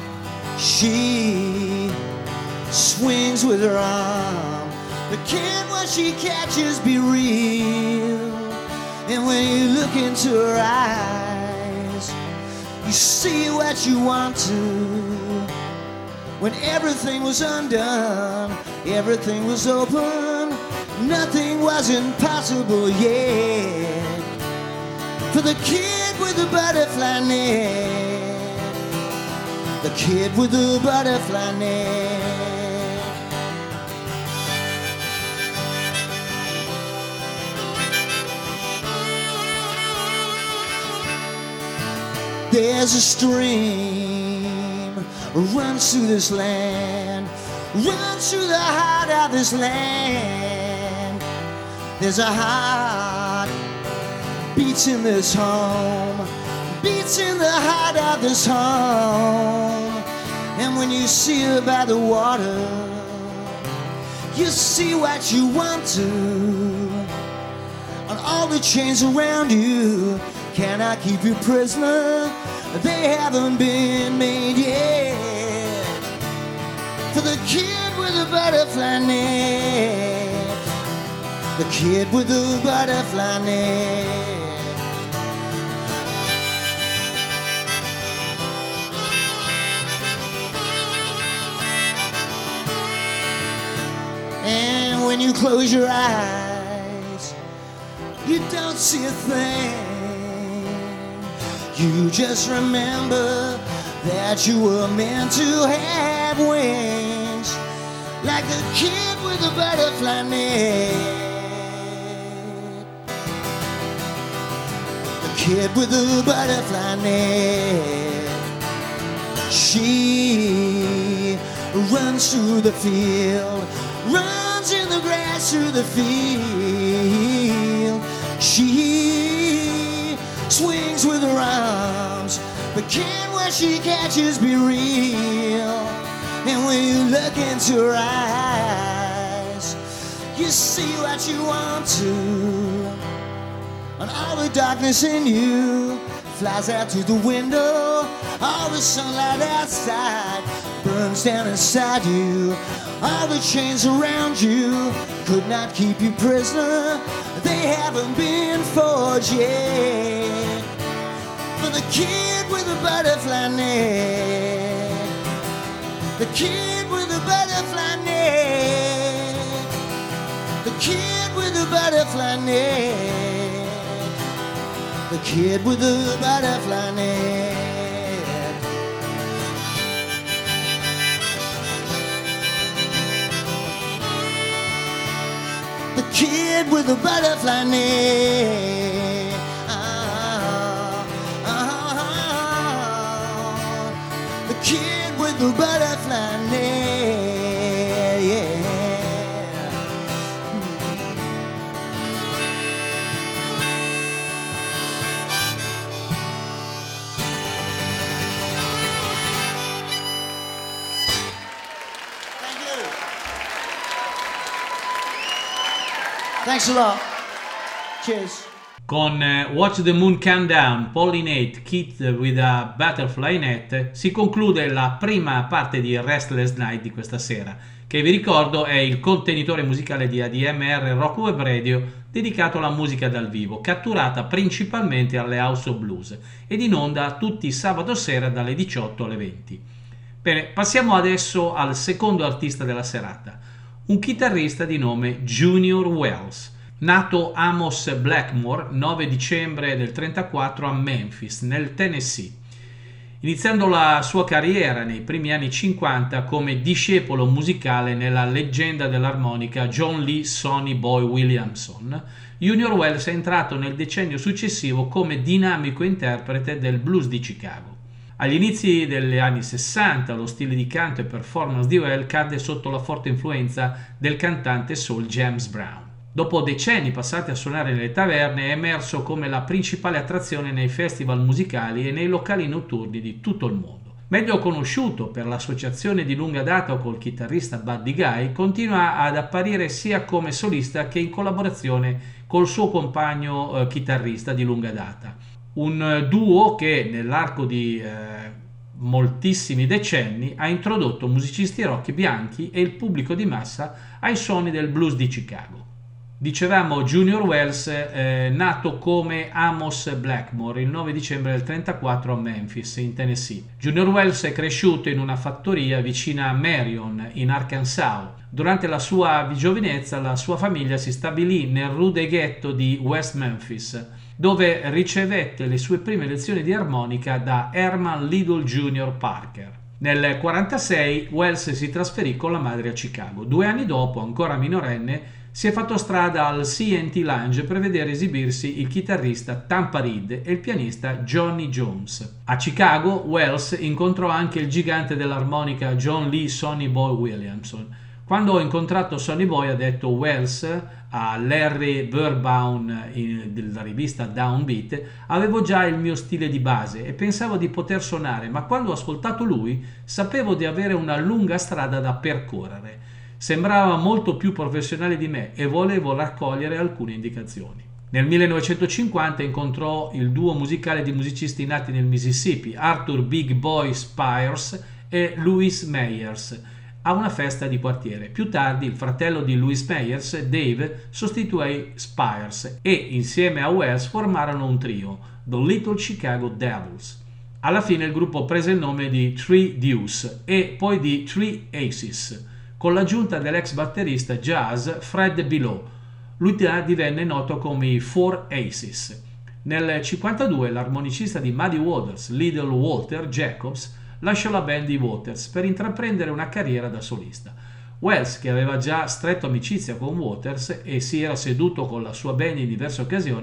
She swings with her arm, but can what she catches be real? And when you look into her eyes, you see what you want to. When everything was undone, everything was open, nothing was impossible yet. For the kid with the butterfly net, the kid with the butterfly net. There's a stream runs through this land, runs through the heart of this land. There's a heart beats in this home, beats in the heart of this home. And when you see her by the water, you see what you want to. On all the chains around you, can I keep you prisoner? They haven't been made yet. For the kid with the butterfly net, the kid with the butterfly net. And when you close your eyes, you don't see a thing. You just remember that you were meant to have wings, like the kid with the butterfly net. The kid with the butterfly net. She runs through the field, runs in the grass through the field. She swings with her arms, but can what she catches be real? And when you look into her eyes, you see what you want to. And all the darkness in you flies out through the window. All the sunlight outside burns down inside you. All the chains around you could not keep you prisoner. They haven't been forged yet. For the kid with the butterfly net, the kid with the butterfly net, the kid with the butterfly net, the kid with the butterfly net. The kid with the butterfly net. The kid with the butterfly net. Yeah. Thank you. Thanks a lot. Cheers. Con Watch the Moon Come Down, Pollinate, Kid with a Butterfly Net si conclude la prima parte di Restless Night di questa sera, che vi ricordo è il contenitore musicale di ADMR Rock Web Radio dedicato alla musica dal vivo, catturata principalmente alle House of Blues ed in onda tutti i sabato sera dalle 18 alle 20. Bene, passiamo adesso al secondo artista della serata, un chitarrista di nome Junior Wells. Nato Amos Blackmore 9 dicembre del 1934 a Memphis, nel Tennessee, iniziando la sua carriera nei primi anni 50 come discepolo musicale nella leggenda dell'armonica John Lee Sonny Boy Williamson. Junior Wells è entrato nel decennio successivo come dinamico interprete del blues di Chicago. Agli inizi degli anni 60 lo stile di canto e performance di Wells cadde sotto la forte influenza del cantante soul James Brown. Dopo decenni passati a suonare nelle taverne, è emerso come la principale attrazione nei festival musicali e nei locali notturni di tutto il mondo. Meglio conosciuto per l'associazione di lunga data col chitarrista Buddy Guy, continua ad apparire sia come solista che in collaborazione col suo compagno chitarrista di lunga data. Un duo che nell'arco di moltissimi decenni ha introdotto musicisti rock bianchi e il pubblico di massa ai suoni del blues di Chicago. Dicevamo Junior Wells, nato come Amos Blackmore il 9 dicembre del 1934 a Memphis, in Tennessee. Junior Wells è cresciuto in una fattoria vicina a Marion, in Arkansas. Durante la sua giovinezza la sua famiglia si stabilì nel rude ghetto di West Memphis, dove ricevette le sue prime lezioni di armonica da Herman Little Jr. Parker. Nel 1946 Wells si trasferì con la madre a Chicago. 2 anni dopo, ancora minorenne, si è fatto strada al C&T Lounge per vedere esibirsi il chitarrista Tampa Reed e il pianista Johnny Jones. A Chicago, Wells incontrò anche il gigante dell'armonica John Lee Sonny Boy Williamson. Quando ho incontrato Sonny Boy, ha detto Wells a Larry Verbaum della rivista Downbeat, avevo già il mio stile di base e pensavo di poter suonare, ma quando ho ascoltato lui sapevo di avere una lunga strada da percorrere. Sembrava molto più professionale di me e volevo raccogliere alcune indicazioni. Nel 1950 incontrò il duo musicale di musicisti nati nel Mississippi, Arthur Big Boy Spires e Louis Meyers, a una festa di quartiere. Più tardi il fratello di Louis Meyers, Dave, sostituì Spires e insieme a Wells formarono un trio, The Little Chicago Devils. Alla fine il gruppo prese il nome di Three Deuce e poi di Three Aces, con l'aggiunta dell'ex batterista jazz Fred Below. Lui divenne noto come i Four Aces. Nel 1952 l'armonicista di Muddy Waters, Little Walter Jacobs, lasciò la band di Waters per intraprendere una carriera da solista. Wells, che aveva già stretto amicizia con Waters e si era seduto con la sua band in diverse occasioni,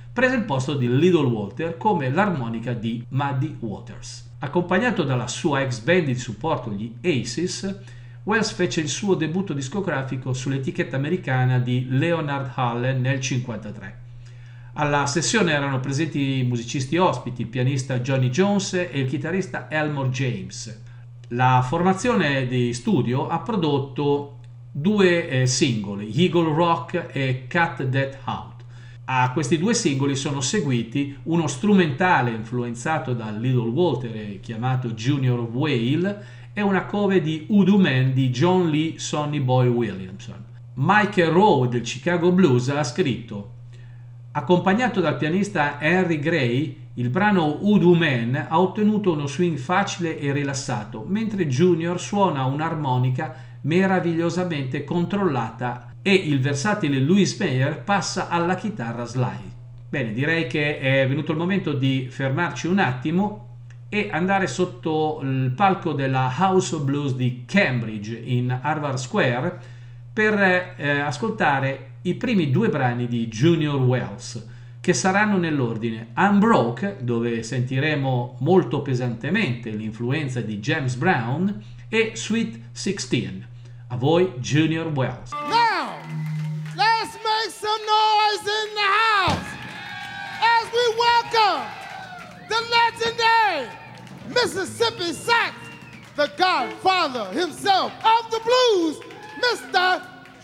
prese il posto di Little Walter come l'armonica di Muddy Waters. Accompagnato dalla sua ex band di supporto, gli Aces, Wells fece il suo debutto discografico sull'etichetta americana di Leonard Allen nel 1953. Alla sessione erano presenti musicisti ospiti, il pianista Johnny Jones e il chitarrista Elmore James. La formazione di studio ha prodotto 2 singoli, Eagle Rock e Cut That Out. A questi 2 singoli sono seguiti uno strumentale influenzato da Little Walter chiamato Junior Whale e una cover di Voodoo Man di John Lee Sonny Boy Williamson. Michael Rowe del Chicago Blues ha scritto: accompagnato dal pianista Henry Gray, il brano Voodoo Man ha ottenuto uno swing facile e rilassato, mentre Junior suona un'armonica meravigliosamente controllata e il versatile Louis Meyer passa alla chitarra slide. Bene, direi che è venuto il momento di fermarci un attimo e andare sotto il palco della House of Blues di Cambridge in Harvard Square per ascoltare i primi 2 brani di Junior Wells, che saranno nell'ordine Unbroke, dove sentiremo molto pesantemente l'influenza di James Brown, e Sweet 16. A voi Junior Wells. Now, let's make some noise in the house as we welcome the legendary Mississippi Sax, the godfather himself of the blues, Mr.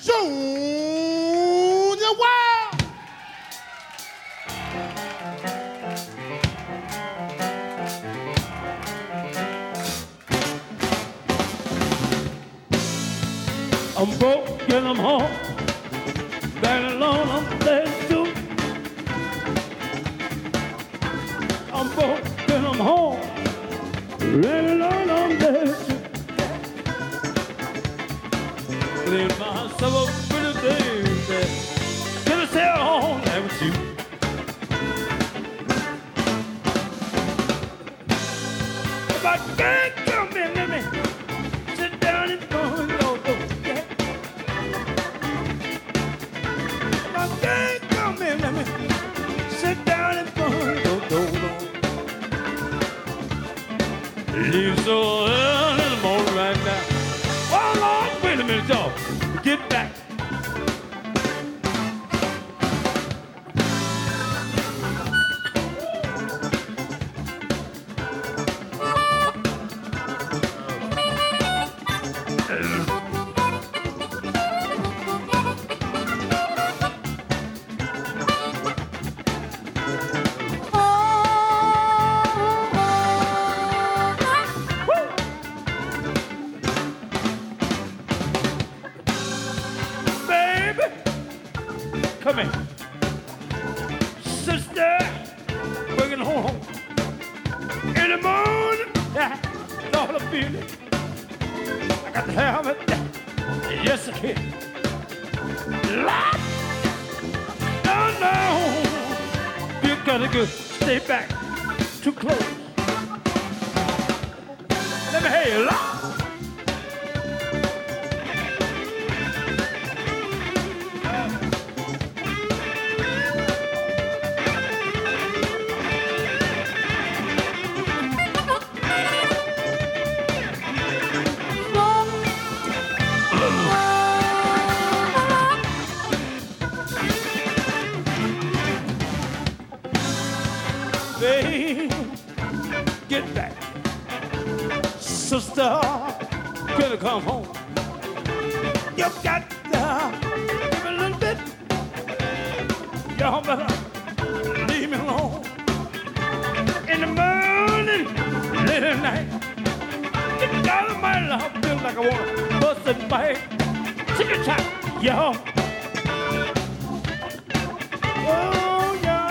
Junior Wells. I'm broke and I'm home, back alone I'm dead too. I'm broke and I'm home, back alone I'm dead too. Leave myself a pretty baby, can I stay home there with you? If I can't come in, let me sit down and go. Let me sit down and go. Leave so early in the morning right now. Oh Lord, wait a minute, y'all. Get back. Come in. Sister, bringing home. In the morning, that's all I feel it. I got to have it. Yes, I can. Lord, no. You gotta go. Stay back. Too close. Let me hear you, Lord. Get back, sister, gonna come home. You got to give a little bit. Y'all better leave me alone. In the morning, late at night, you got my love, feel like I wanna bust it back. Take a shot, y'all. Oh, yeah.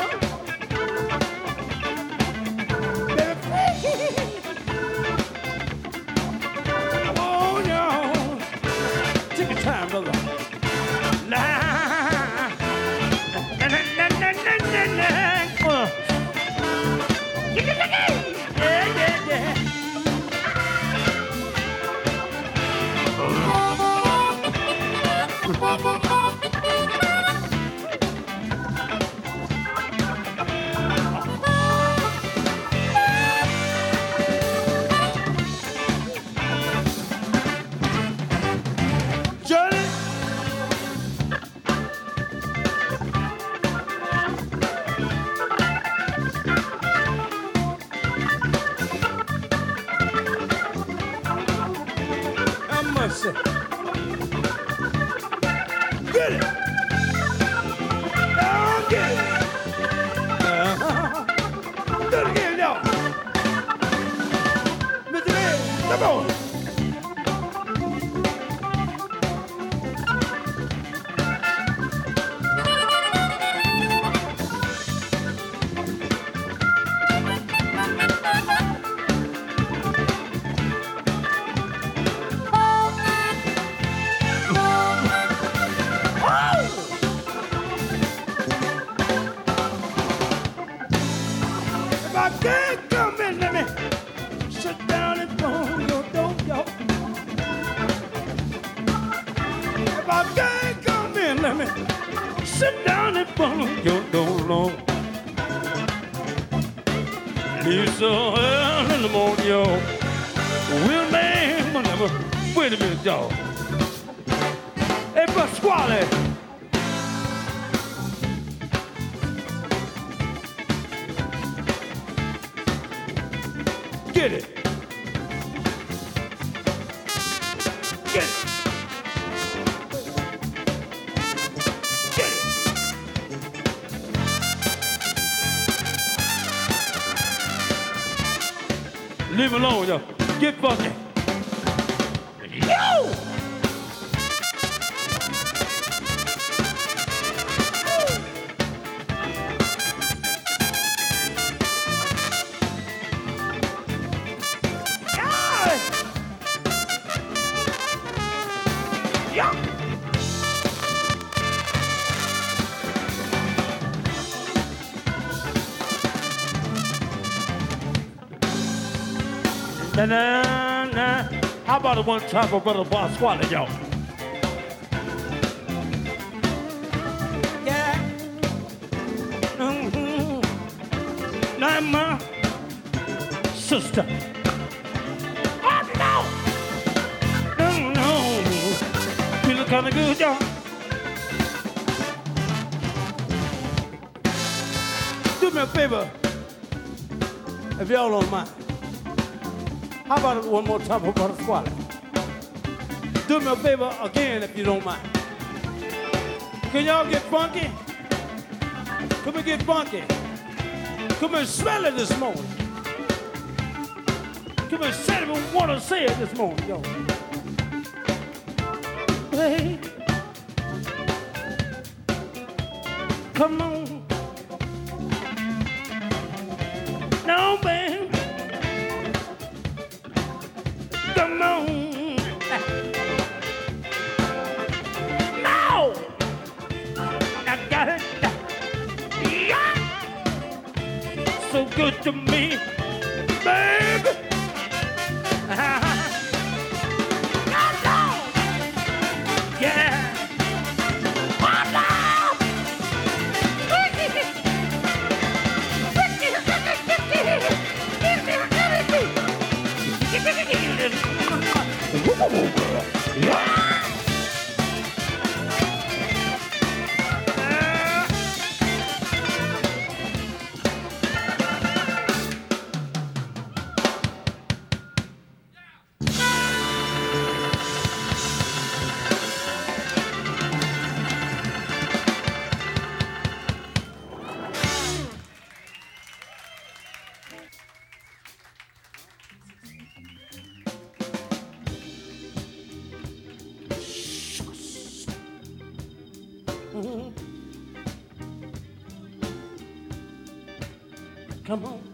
Oh, no. Take your time, brother. Nah. Yeah. Get it. Oh, get it. Do it again, y'all. Mr. Man, come on. Sit down and follow your door long. Leave so early in the morning, y'all. Will man will never. Wait a minute, y'all. Hey, Pasquale. Get it. Get it. Leave him alone, yo. Get funky. Yo! Nah. How about the one time for Brother Pasquale, y'all? Yeah. Now my sister. Oh no. Feeling kind of good, y'all. Do me a favor, if y'all don't mind. How about it one more time for Brother Squally? Do me a favor again if you don't mind. Can y'all get funky? Come and get funky. Come and smell it this morning. Come and say it and want to say it this morning, yo. Hey. Come on. No, baby. Come on. No! I got it. Yeah! So good to me, baby. Yeah. Come on.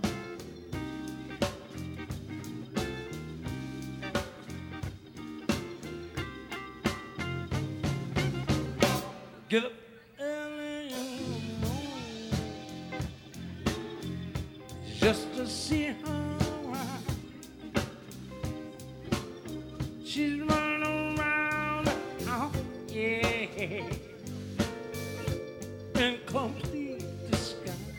Get up. Just to see her. She's running around. Oh, yeah. In complete disguise.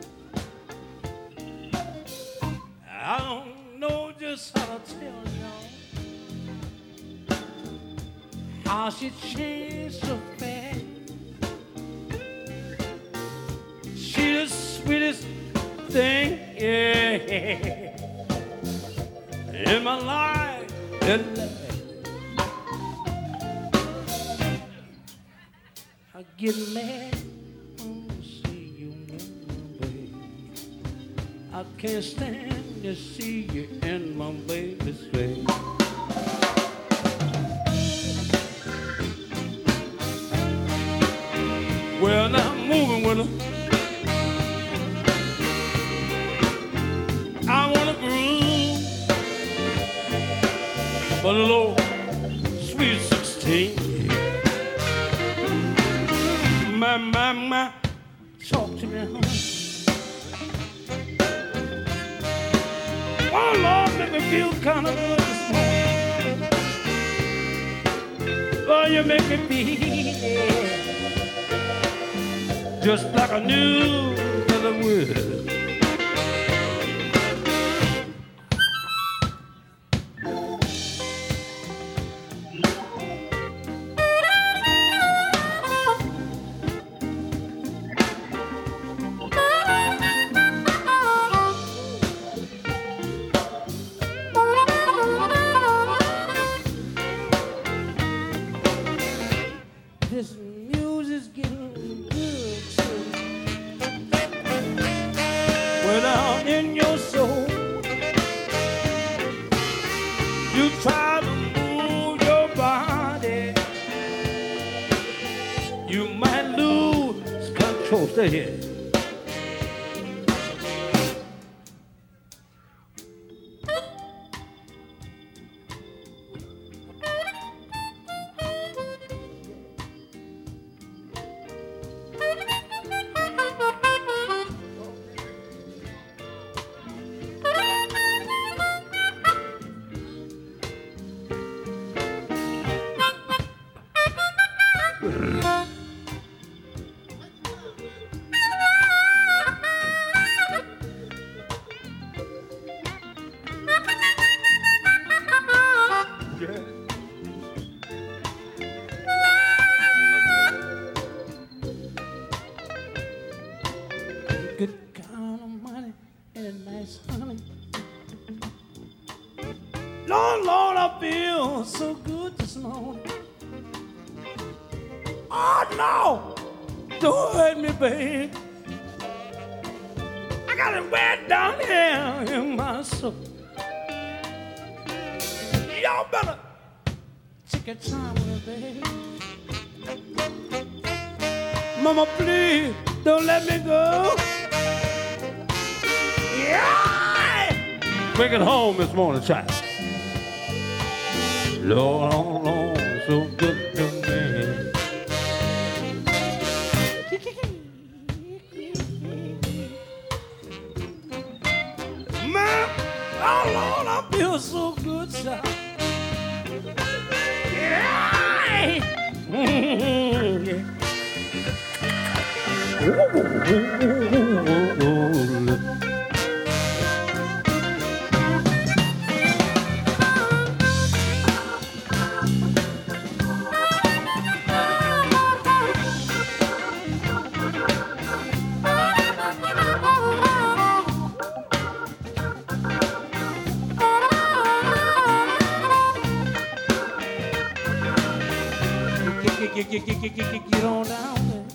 I don't know just how to tell y'all how she changed so fast. She the sweetest thing, yeah, in my life. get mad when I see you in my bed. I can't stand to see you in my baby's face. Well, now I'm moving with her. I wanna groove, but a little sweet 16. My, talk to me, honey. Oh, Lord, make me feel kind of good this morning. Oh, you make me feel just like I knew that I would. This music's getting good too. Well, down in your soul, you try to move your body, you might lose control. Stay here. Good kind of money and a nice honey. Lord, Lord, I feel so good this morning. Oh, no! Don't hurt me, babe. I got it wet down here in my soul. Y'all better take your time with it, babe. Mama, please, don't let me go. Yeah! Bring it home this morning, child. Lord, oh, Lord, so good to me. Man, oh, Lord, I feel so good, child. Yeah! Yeah. Get on down there.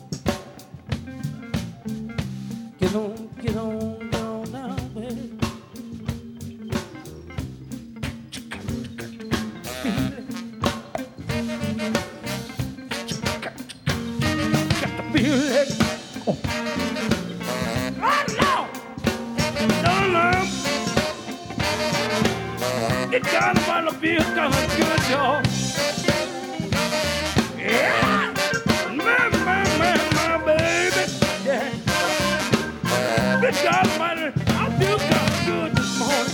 Get on down there. Got to feel it. Oh, no! No. It got to feel kind of good, y'all. Yeah, my baby. Yeah. Good God Almighty, I feel kind of good this morning.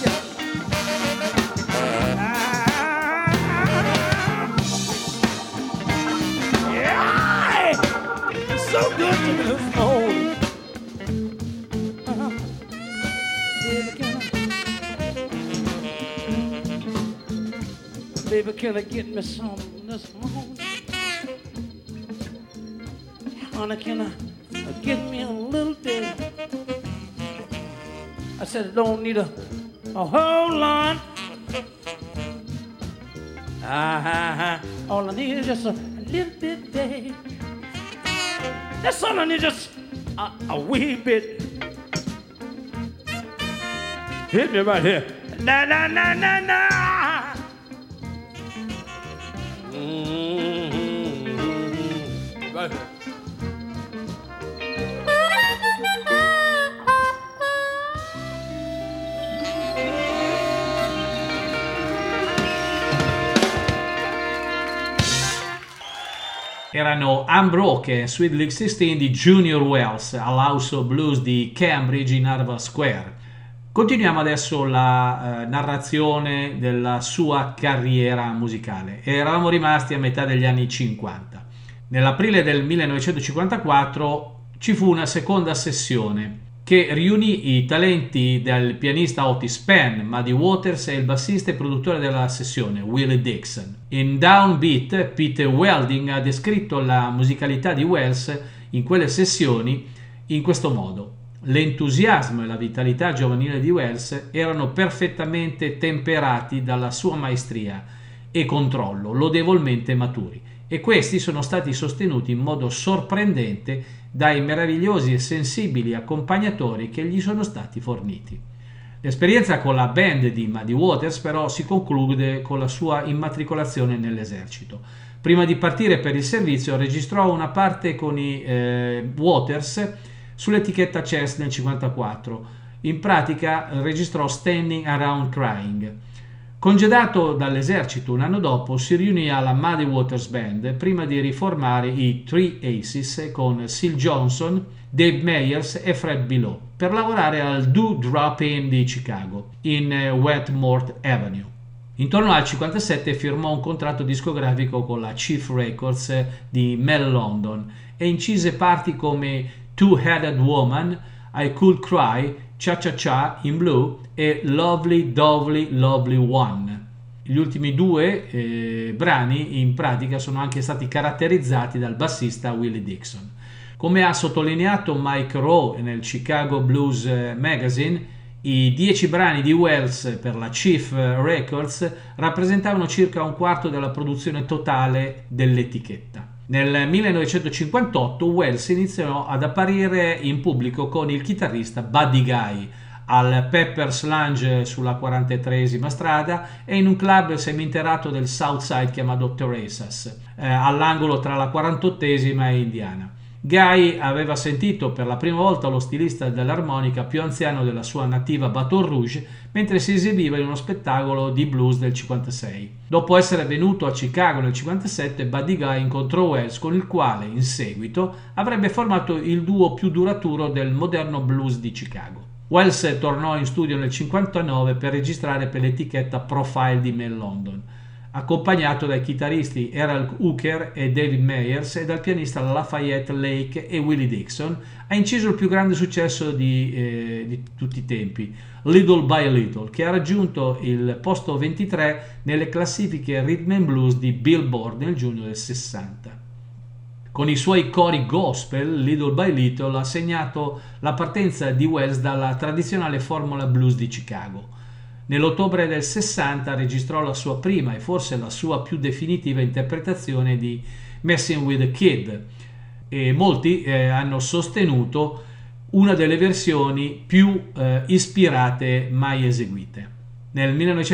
Yeah, it's so good to me this morning. Baby, can I get me some this morning? Honey, can I get me a little bit? I said I don't need a whole lot. All I need is just a little bit, babe. That's something just a wee bit. Hit me right here. Na na na na na. Right here. Erano Unbroken e Sweet League 16 di Junior Wells all'House of Blues di Cambridge in Harvard Square. Continuiamo adesso la narrazione della sua carriera musicale. Eravamo rimasti a metà degli anni 50. Nell'aprile del 1954 ci fu una seconda sessione che riunì i talenti del pianista Otis Penn, Muddy Waters e il bassista e produttore della sessione, Willie Dixon. In Downbeat, Peter Welding ha descritto la musicalità di Wells in quelle sessioni in questo modo. L'entusiasmo e la vitalità giovanile di Wells erano perfettamente temperati dalla sua maestria e controllo, lodevolmente maturi, e questi sono stati sostenuti in modo sorprendente dai meravigliosi e sensibili accompagnatori che gli sono stati forniti. L'esperienza con la band di Muddy Waters però si conclude con la sua immatricolazione nell'esercito. Prima di partire per il servizio registrò una parte con i Waters sull'etichetta Chess nel 1954. In pratica registrò Standing Around Crying. Congedato dall'esercito un anno dopo, si riunì alla Muddy Waters Band prima di riformare i Three Aces con Syl Johnson, Dave Meyers e Fred Below per lavorare al Do Drop In di Chicago, in Wetmore Avenue. Intorno al 1957 firmò un contratto discografico con la Chief Records di Mel London e incise parti come Two-Headed Woman, I Could Cry, Cha Cha Cha in Blue e Lovely Dovely Lovely One. Gli ultimi due brani in pratica sono anche stati caratterizzati dal bassista Willie Dixon. Come ha sottolineato Mike Rowe nel Chicago Blues Magazine, i 10 brani di Wells per la Chief Records rappresentavano circa un quarto della produzione totale dell'etichetta. Nel 1958 Wells iniziò ad apparire in pubblico con il chitarrista Buddy Guy al Pepper's Lounge sulla 43esima strada e in un club seminterrato del South Side chiamato Teresa's, all'angolo tra la 48esima e Indiana. Guy aveva sentito per la prima volta lo stilista dell'armonica più anziano della sua nativa Baton Rouge mentre si esibiva in uno spettacolo di blues del 56. Dopo essere venuto a Chicago nel 57, Buddy Guy incontrò Wells, con il quale in seguito avrebbe formato il duo più duraturo del moderno blues di Chicago. Wells tornò in studio nel 59 per registrare per l'etichetta Profile di Mel London, accompagnato dai chitarristi Errol Hooker e David Meyers e dal pianista Lafayette Lake e Willie Dixon. Ha inciso il più grande successo di tutti i tempi, Little by Little, che ha raggiunto il posto 23 nelle classifiche Rhythm and Blues di Billboard nel giugno del 60. Con i suoi cori gospel, Little by Little ha segnato la partenza di Wells dalla tradizionale formula blues di Chicago. Nell'ottobre del 60 registrò la sua prima e forse la sua più definitiva interpretazione di Messing with the Kid e molti hanno sostenuto una delle versioni più ispirate mai eseguite. Nel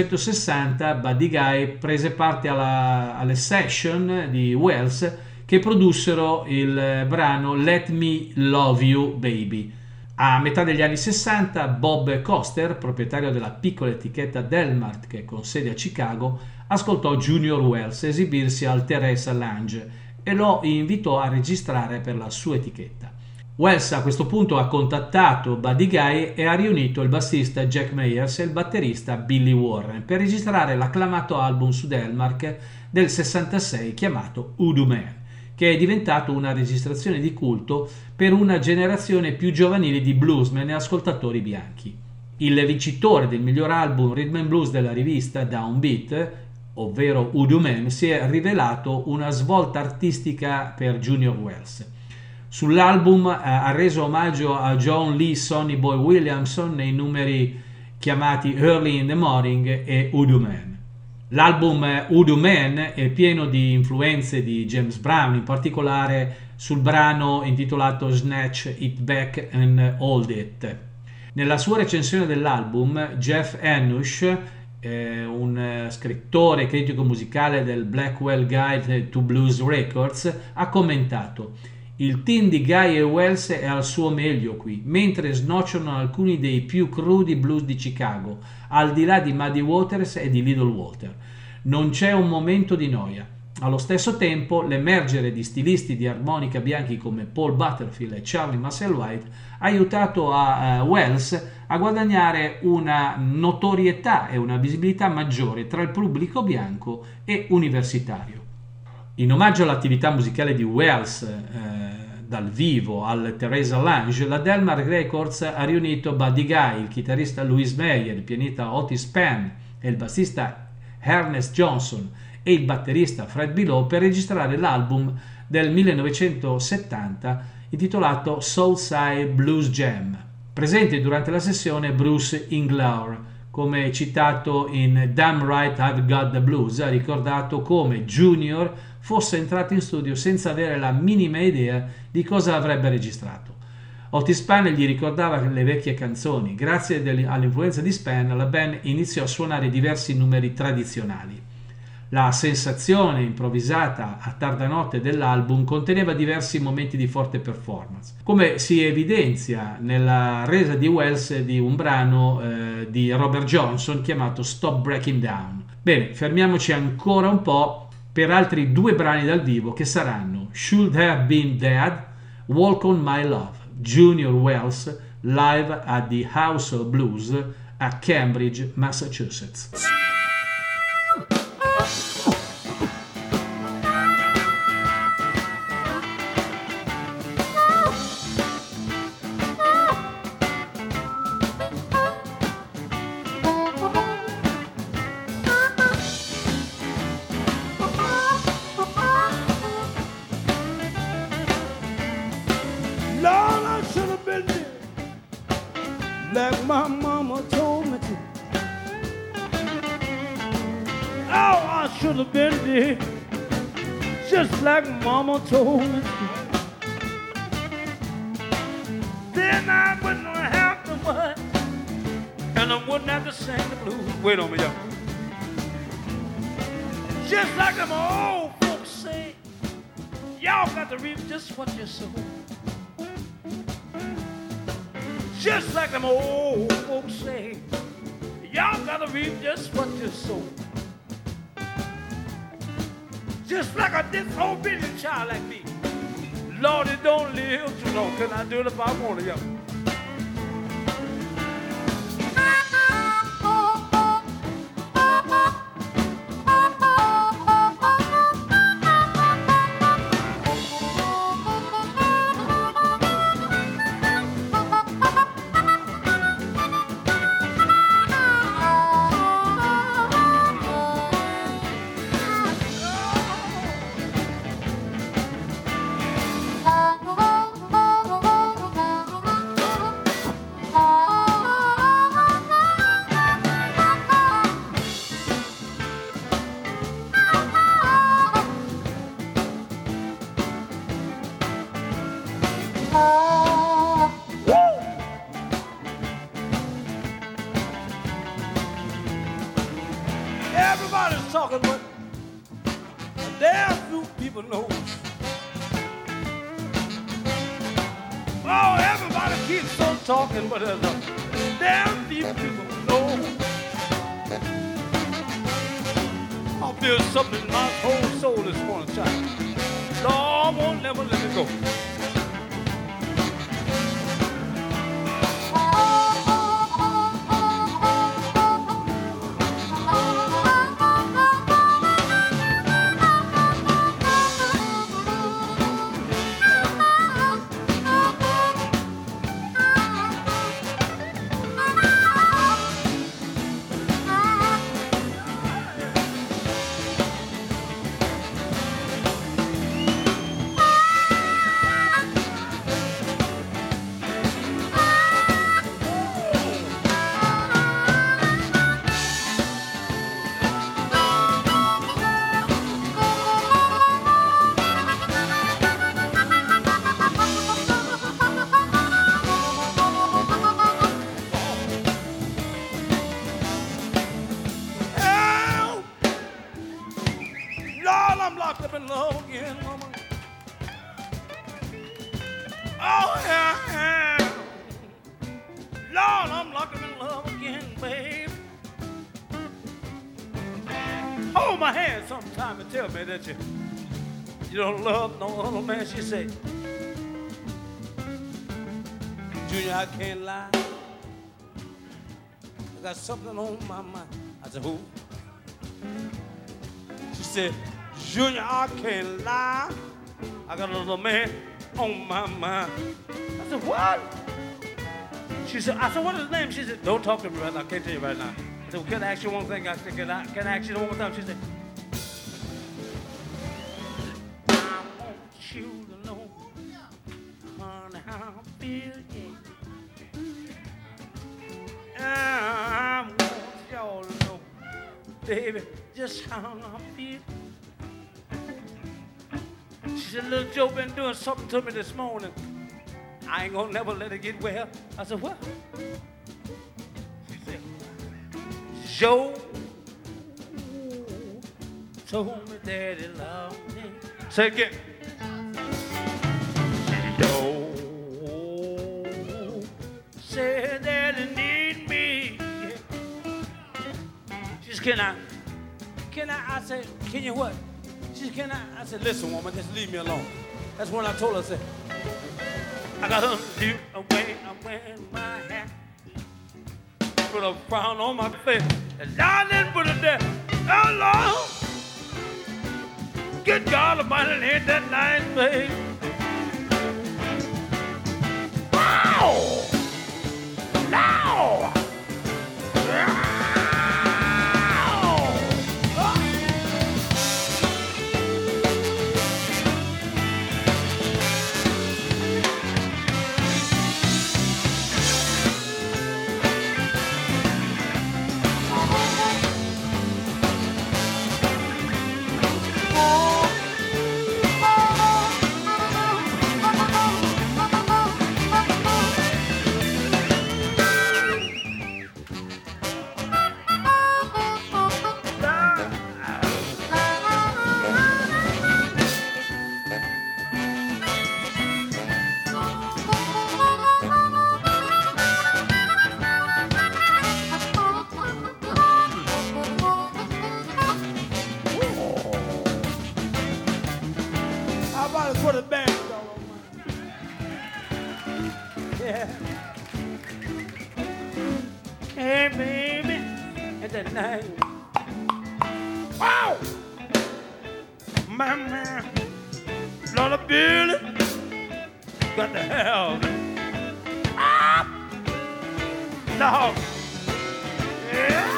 1960 Buddy Guy prese parte alle session di Wells che produssero il brano Let Me Love You Baby. A metà degli anni 60 Bob Coster, proprietario della piccola etichetta Delmart che con sede a Chicago, ascoltò Junior Wells esibirsi al Teresa Lounge e lo invitò a registrare per la sua etichetta. Wells a questo punto ha contattato Buddy Guy e ha riunito il bassista Jack Meyers e il batterista Billy Warren per registrare l'acclamato album su Delmart del 66 chiamato Voodoo Man, che è diventato una registrazione di culto per una generazione più giovanile di bluesmen e ascoltatori bianchi. Il vincitore del miglior album Rhythm and Blues della rivista Downbeat, ovvero Voodoo Man, si è rivelato una svolta artistica per Junior Wells. Sull'album ha reso omaggio a John Lee Sonny Boy Williamson nei numeri chiamati Early in the Morning e Voodoo Man. L'album Voodoo Man è pieno di influenze di James Brown, in particolare sul brano intitolato Snatch It Back and Hold It. Nella sua recensione dell'album, Jeff Enush, un scrittore e critico musicale del Blackwell Guide to Blues Records, ha commentato: il team di Guy e Wells è al suo meglio qui, mentre snocciolano alcuni dei più crudi blues di Chicago, al di là di Muddy Waters e di Little Walter. Non c'è un momento di noia. Allo stesso tempo, l'emergere di stilisti di armonica bianchi come Paul Butterfield e Charlie Musselwhite ha aiutato a Wells a guadagnare una notorietà e una visibilità maggiore tra il pubblico bianco e universitario. In omaggio all'attività musicale di Wells dal vivo al Teresa Lange, la Delmar Records ha riunito Buddy Guy, il chitarrista Louis Meyer, il pianista Otis Penn e il bassista Ernest Johnson e il batterista Fred Below per registrare l'album del 1970 intitolato Soulside Blues Jam. Presente durante la sessione Bruce Inglour, come citato in Damn Right I've Got the Blues, ha ricordato come Junior fosse entrato in studio senza avere la minima idea di cosa avrebbe registrato. Otis Spann gli ricordava le vecchie canzoni. Grazie all'influenza di Spann, la band iniziò a suonare diversi numeri tradizionali. La sensazione improvvisata a tarda notte dell'album conteneva diversi momenti di forte performance, come si evidenzia nella resa di Wells di un brano di Robert Johnson chiamato Stop Breaking Down. Bene, fermiamoci ancora un po' per altri 2 brani dal vivo che saranno Should Have Been Dead, Walk on My Love, Junior Wells live at the House of Blues a Cambridge, Massachusetts. Like my mama told me to. Oh, I should have been dead, just like mama told me to. Then I wouldn't have to worry, and I wouldn't have to sing the blues. Wait on me, y'all. Just like them old folks say, y'all got to reap just what you sow. Just like them old folks say, y'all gotta reap just what you sow. Just like a disobedient child like me, Lord, it don't live too long. Can I do it if I want to, y'all? Everybody's talking, but a damn few people know. Oh, everybody keeps on talking, but there's a damn few people know. I feel something in my whole soul this morning, child. Lord won't never let me go. Oh, yeah. Lord, I'm locking in love again, babe. Hold my hand sometime and tell me that you don't love no other man. She said, Junior, I can't lie. I got something on my mind. I said, who? She said, Junior, I can't lie. I got another man on my mind. I said, what? She said, I said, what is his name? She said, don't talk to me right now. I can't tell you right now. I said, well, can I ask you one thing? I said, can I ask you one more time? She said, I want you to know, honey, how I feel, yeah. I want y'all to know, baby, just how I feel. She said, little Joe been doing something to me this morning. I ain't gonna never let it get well. I said, what? She said, Joe told me that he loved me. Say it again. Joe said that he need me. She said, can I? I said, can you what? She said, can I? I said, listen, woman, just leave me alone. That's when I told her, I said, I got to away, I'm wearing my hat. Put a frown on my face. And I didn't put it there. Oh, Lord. Good God Almighty, ain't that nice, babe? Wow! Now! Put a band on. Yeah. Hey, baby. And that night. Wow! My man. Lot of Billy. Got the hell. Ah! No. Yeah.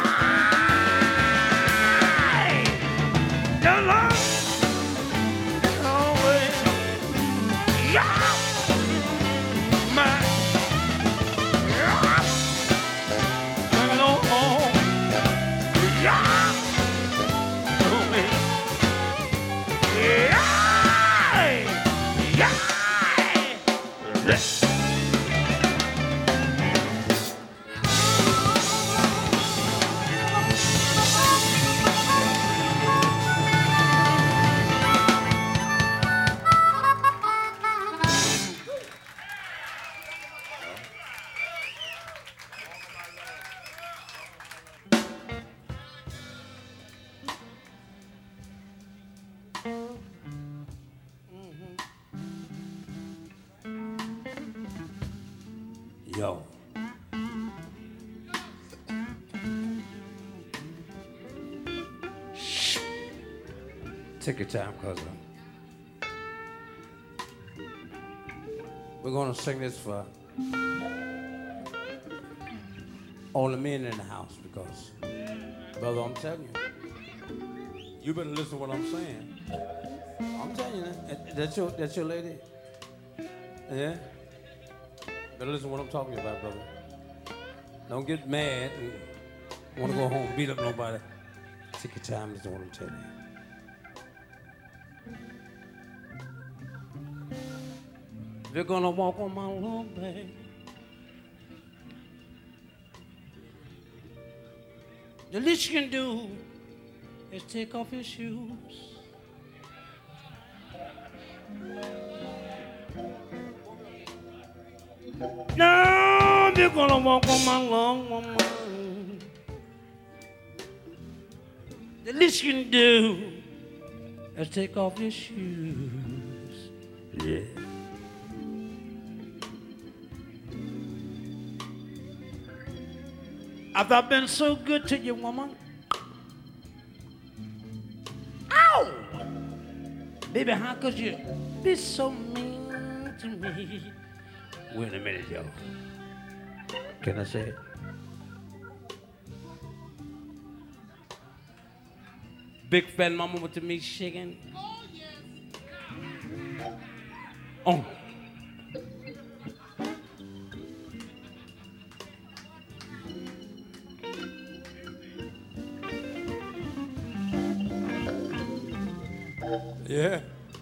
Hello. Yo. Shh. Take your time, cousin. We're gonna sing this for all the men in the house because, brother, I'm telling you, you better listen to what I'm saying. I'm telling you that. That's your lady? Yeah? Better listen to what I'm talking about, brother. Don't get mad and want to go home and beat up nobody. Take your time, listen to what I'm telling you. If you're gonna walk on my lawn, babe, the least you can do is take off your shoes. Now you're gonna walk on my long woman. The least you can do is take off your shoes. Yeah. Have I been so good to you, woman? Ow! Baby, how could you be so mean to me? Wait a minute, y'all. Can I say it? Big fat mama with the meat shaking. Oh, yes. Oh. Yeah.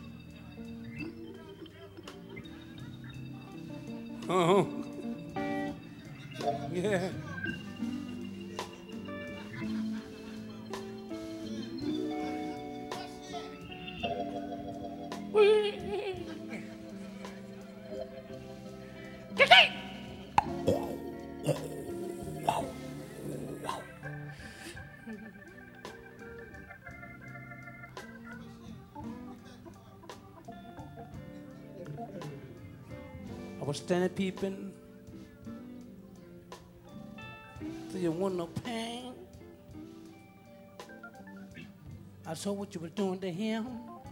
Uh-huh. Yeah. I was standing peeping through your window pane. I saw what you were doing to him.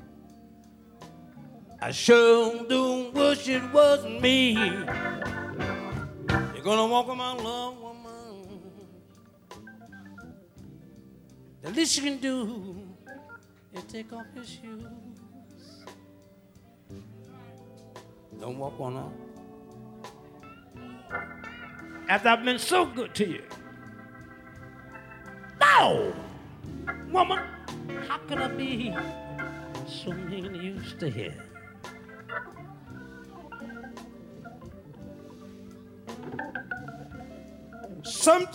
I sure do wish it wasn't me. You're gonna walk with my love, woman. The least you can do is take off your shoes. Don't walk on up. After I've been so good to you. No! Woman, how can I be so mean to you? Stay here. Sometimes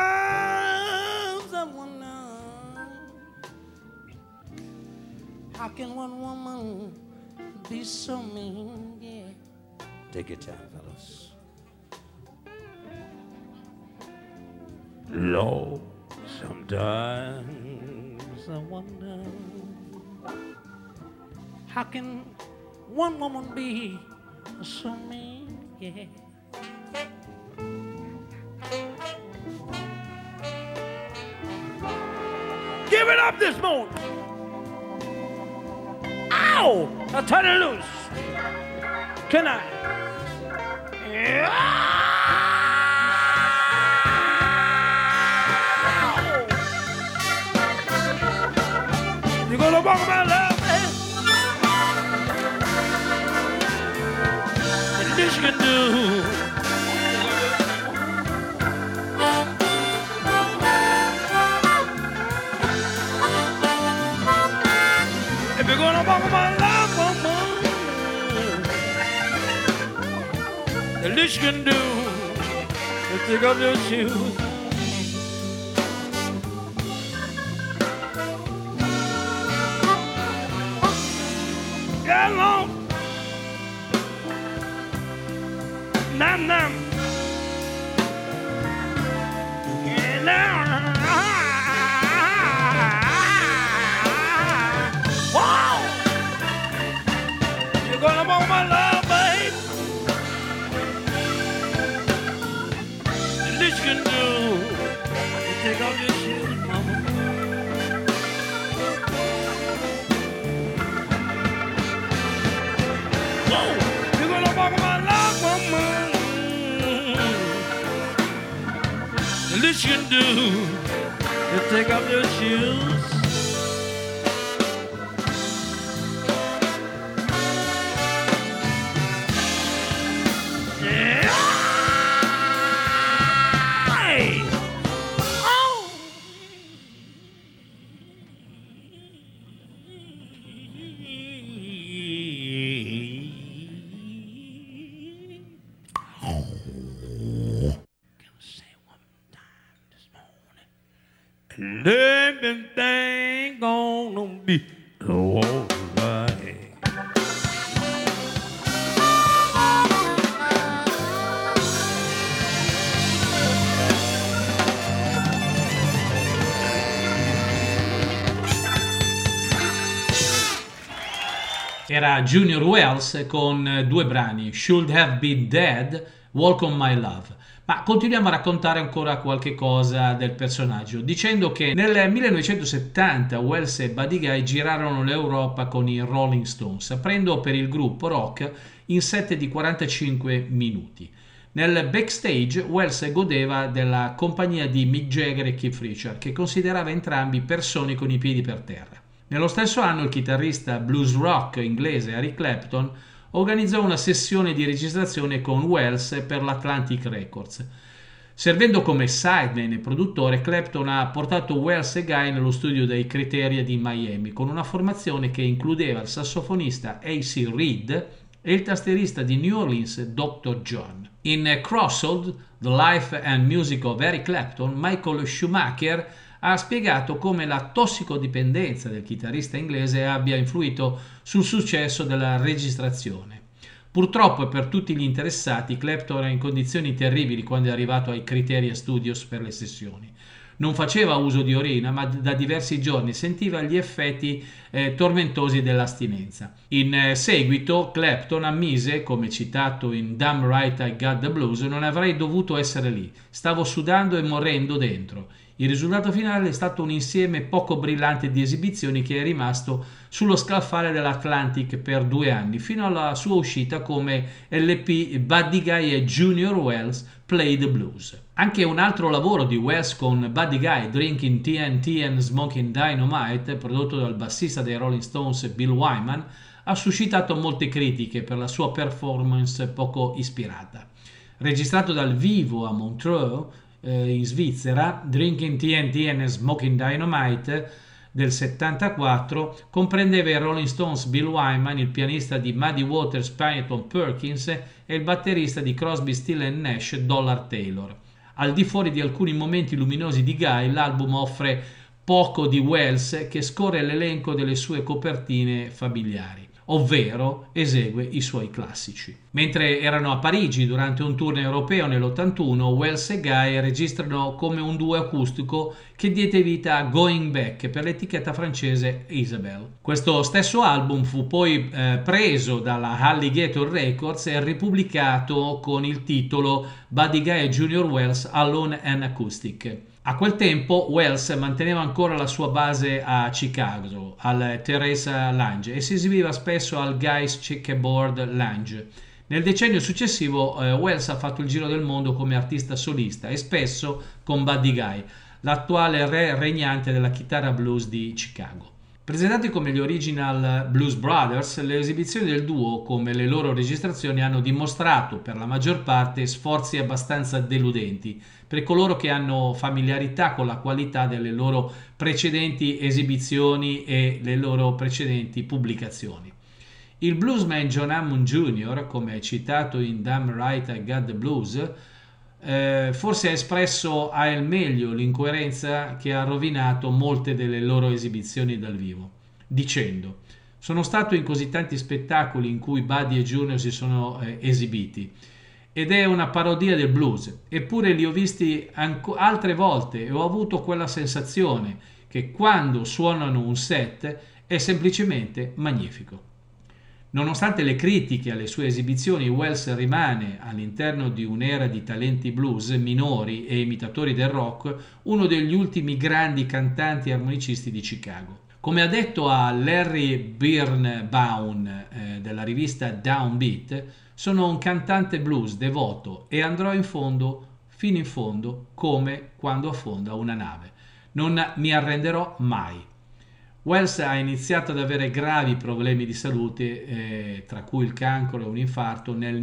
I wonder, how can one woman be so mean? Yeah. Take your time, fellas. Lord, sometimes I wonder, how can one woman be so mean? Yeah. Give it up this morning. Ow! Now turn it loose. Can I? Yeah. You're gonna walk my love, man. The least you can do. If you're gonna walk my love, woman, the least you can do is take off your shoes. Long. Nam nam. Yeah, now. Wow. You're gonna want my love, babe. The least you can do is take off your shoes, mama. You're gonna walk my love, woman. The least you can do is take off your shoes. Yeah. Hey. Oh. And everything gonna be alright. era Junior Wells con due brani, Should Have Been Dead, Walk on My Love. Ma continuiamo a raccontare ancora qualche cosa del personaggio, dicendo che nel 1970 Wells e Buddy Guy girarono l'Europa con i Rolling Stones, aprendo per il gruppo rock in set di 45 minuti. Nel backstage Wells godeva della compagnia di Mick Jagger e Keith Richards, che considerava entrambi persone con i piedi per terra. Nello stesso anno il chitarrista blues rock inglese Eric Clapton organizzò una sessione di registrazione con Wells per l'Atlantic Records. Servendo come sideman e produttore, Clapton ha portato Wells e Guy nello studio dei Criteria di Miami, con una formazione che includeva il sassofonista A.C. Reed e il tastierista di New Orleans Dr. John. In Crossroads, The Life and Music of Eric Clapton, Michael Schumacher ha spiegato come la tossicodipendenza del chitarrista inglese abbia influito sul successo della registrazione. Purtroppo e per tutti gli interessati, Clapton era in condizioni terribili quando è arrivato ai Criteria Studios per le sessioni. Non faceva uso di orina, ma da diversi giorni sentiva gli effetti tormentosi dell'astinenza. In seguito Clapton ammise, come citato in Damn Right I Got the Blues, non avrei dovuto essere lì, stavo sudando e morendo dentro. Il risultato finale è stato un insieme poco brillante di esibizioni che è rimasto sullo scaffale dell'Atlantic per 2 anni, fino alla sua uscita come LP Buddy Guy e Junior Wells Play the Blues. Anche un altro lavoro di Wells con Buddy Guy, Drinking TNT and Smoking Dynamite, prodotto dal bassista dei Rolling Stones Bill Wyman, ha suscitato molte critiche per la sua performance poco ispirata. Registrato dal vivo a Montreux, in Svizzera, Drinking TNT and Smoking Dynamite del 74 comprendeva i Rolling Stones Bill Wyman, il pianista di Muddy Waters Peyton Perkins e il batterista di Crosby, Stills & Nash Dollar Taylor. Al di fuori di alcuni momenti luminosi di Guy, l'album offre poco di Wells, che scorre l'elenco delle sue copertine familiari, ovvero esegue i suoi classici. Mentre erano a Parigi durante un tour europeo nell'81, Wells e Guy registrano come un duo acustico che diede vita a Going Back per l'etichetta francese Isabel. Questo stesso album fu poi preso dalla Alligator Records e ripubblicato con il titolo Buddy Guy e Junior Wells Alone and Acoustic. A quel tempo Wells manteneva ancora la sua base a Chicago, al Teresa Lounge, e si esibiva spesso al Guy's Checkerboard Lounge. Nel decennio successivo Wells ha fatto il giro del mondo come artista solista e spesso con Buddy Guy, l'attuale re regnante della chitarra blues di Chicago. Presentati come gli Original Blues Brothers, le esibizioni del duo, come le loro registrazioni, hanno dimostrato per la maggior parte sforzi abbastanza deludenti per coloro che hanno familiarità con la qualità delle loro precedenti esibizioni e le loro precedenti pubblicazioni. Il bluesman John Hammond Jr., come citato in Damn Right I Got the Blues, forse ha espresso al meglio l'incoerenza che ha rovinato molte delle loro esibizioni dal vivo, dicendo: sono stato in così tanti spettacoli in cui Buddy e Junior si sono esibiti ed è una parodia del blues, eppure li ho visti altre volte e ho avuto quella sensazione che quando suonano un set è semplicemente magnifico. Nonostante le critiche alle sue esibizioni, Wells rimane, all'interno di un'era di talenti blues minori e imitatori del rock, uno degli ultimi grandi cantanti e armonicisti di Chicago. Come ha detto a Larry Birnbaum della rivista Downbeat, sono un cantante blues devoto e andrò in fondo, fino in fondo, come quando affonda una nave. Non mi arrenderò mai. Wells ha iniziato ad avere gravi problemi di salute, tra cui il cancro e un infarto, nel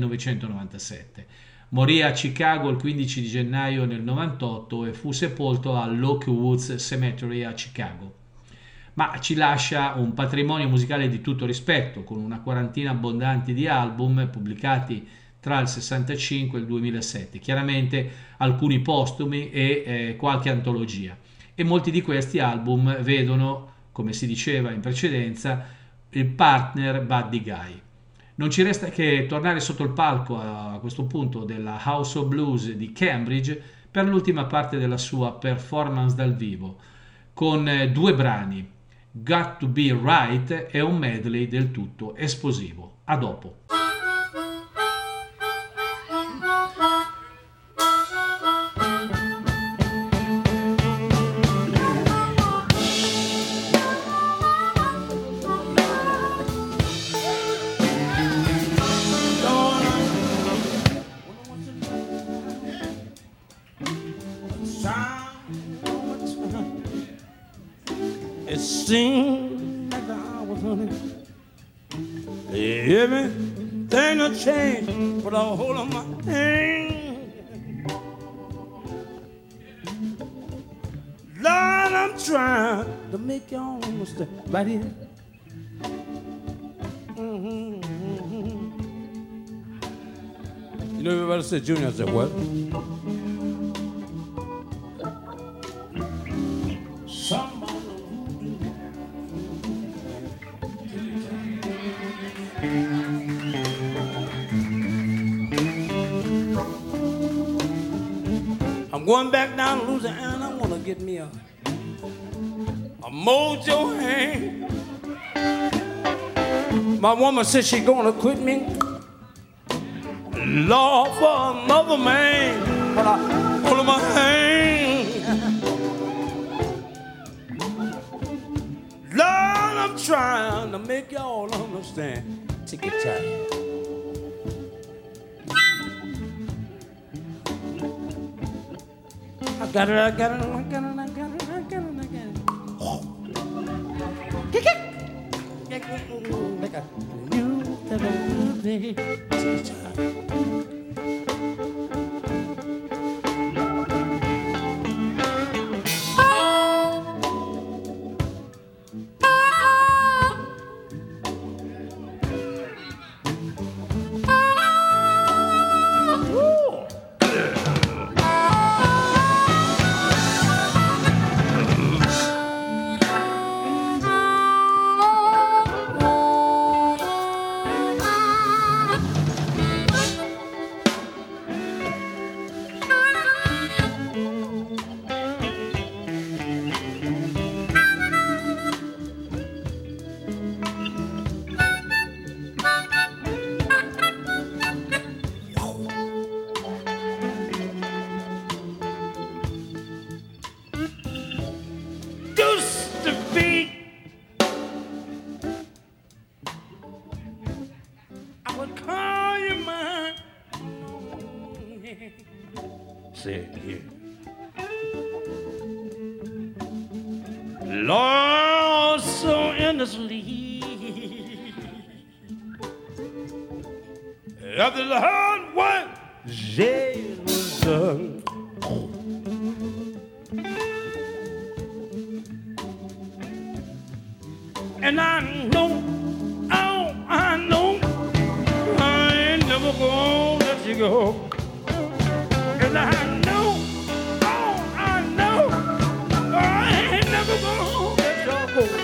1997. Morì a Chicago il 15 di gennaio del 98 e fu sepolto all'Oak Woods Cemetery a Chicago. Ma ci lascia un patrimonio musicale di tutto rispetto, con una quarantina abbondante di album pubblicati tra il 65 e il 2007, chiaramente alcuni postumi e qualche antologia. E molti di questi album vedono, come si diceva in precedenza, il partner Buddy Guy. Non ci resta che tornare sotto il palco a questo punto della House of Blues di Cambridge per l'ultima parte della sua performance dal vivo, con 2 brani, Got to Be Right è un medley del tutto esplosivo. A dopo. It seemed like I was on it. Everything will change, but I'll hold on my hand. Lord, I'm trying to make y'all understand. Right here. You know, everybody said Junior. I said, what? I'm going back down to Louisiana. I want to get me a mojo hand. My woman said she's going to quit me, Lord, for another man. But I hold my hand. Lord, I'm trying to make y'all understand. Take your time. I got it. Like a new baby. Say it here. Lord, so endlessly, after the hard work, jail was done. And I know, I know, I ain't never gonna let you go. And I know, I know, I ain't never gonna let you go.